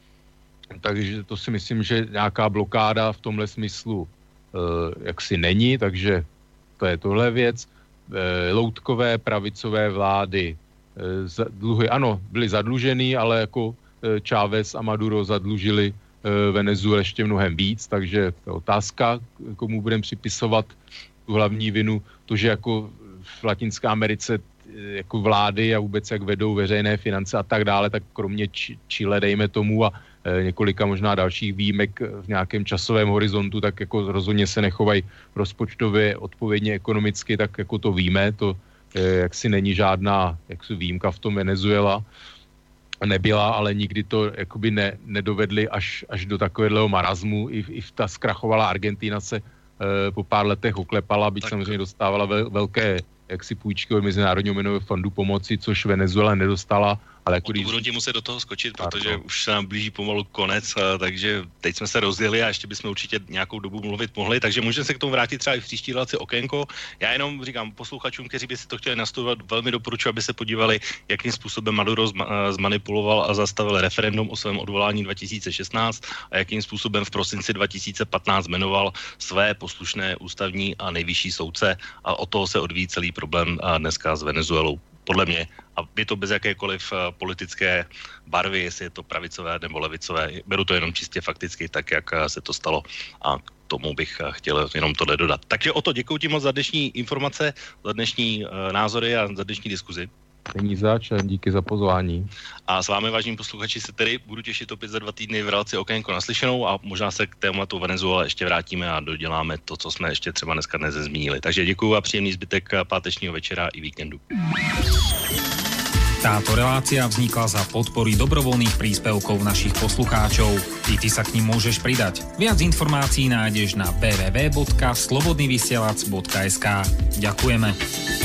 Takže to si myslím, že nějaká blokáda v tomhle smyslu jaksi není, takže to je tohle věc. Loutkové pravicové vlády dluhy, ano, byly zadlužený, ale jako Chávez a Maduro zadlužili Venezuelu ještě mnohem víc, takže to je otázka, komu budeme připisovat tu hlavní vinu. To, že jako v Latinské Americe jako vlády a vůbec jak vedou veřejné finance a tak dále, tak kromě Chile, dejme tomu, a několika možná dalších výjimek v nějakém časovém horizontu, tak jako rozhodně se nechovají rozpočtově odpovědně ekonomicky, tak jako to víme, to jaksi není žádná jaksi výjimka v tom Venezuela nebyla, ale nikdy to jakoby nedovedli až do takového marazmu. I ta zkrachovalá Argentina se po pár letech oklepala, byť samozřejmě dostávala velké jaksi půjčky od Mezinárodního měnového fondu pomoci, což Venezuela nedostala. Ale jako budu ti muset do toho skočit, protože už se nám blíží pomalu konec, takže teď jsme se rozjeli a ještě bychom určitě nějakou dobu mluvit mohli, takže můžeme se k tomu vrátit třeba i v příští relaci Okénko. Já jenom říkám posluchačům, kteří by si to chtěli nastudovat, velmi doporučuji, aby se podívali, jakým způsobem Maduro zmanipuloval a zastavil referendum o svém odvolání 2016 a jakým způsobem v prosinci 2015 jmenoval své poslušné ústavní a nejvyšší soudce a od toho se odvíjí celý problém dneska s Venezuelou. Podle mě, a je to bez jakékoliv politické barvy, jestli je to pravicové nebo levicové, beru to jenom čistě fakticky, tak jak se to stalo a k tomu bych chtěl jenom tohle dodat. Takže o to děkuji ti moc za dnešní informace, za dnešní názory a za dnešní diskuzi. Není zač, díky za pozvání. A s vámi, vážení posluchači, se tedy budu těšit opět za 2 týdny v relaci Okénko naslyšenou a možná se k tématu Venezuela ještě vrátíme a doděláme to, co jsme ještě třeba dneska nezmínili. Takže děkuji a příjemný zbytek pátečního večera i víkendu. Táto relácia vznikla za podpory dobrovoľných príspevkov našich poslucháčov. Ty sa k nim môžeš pridať. Viac informácií nájdeš na www.slobodnyvysielac.sk. Ďakujeme.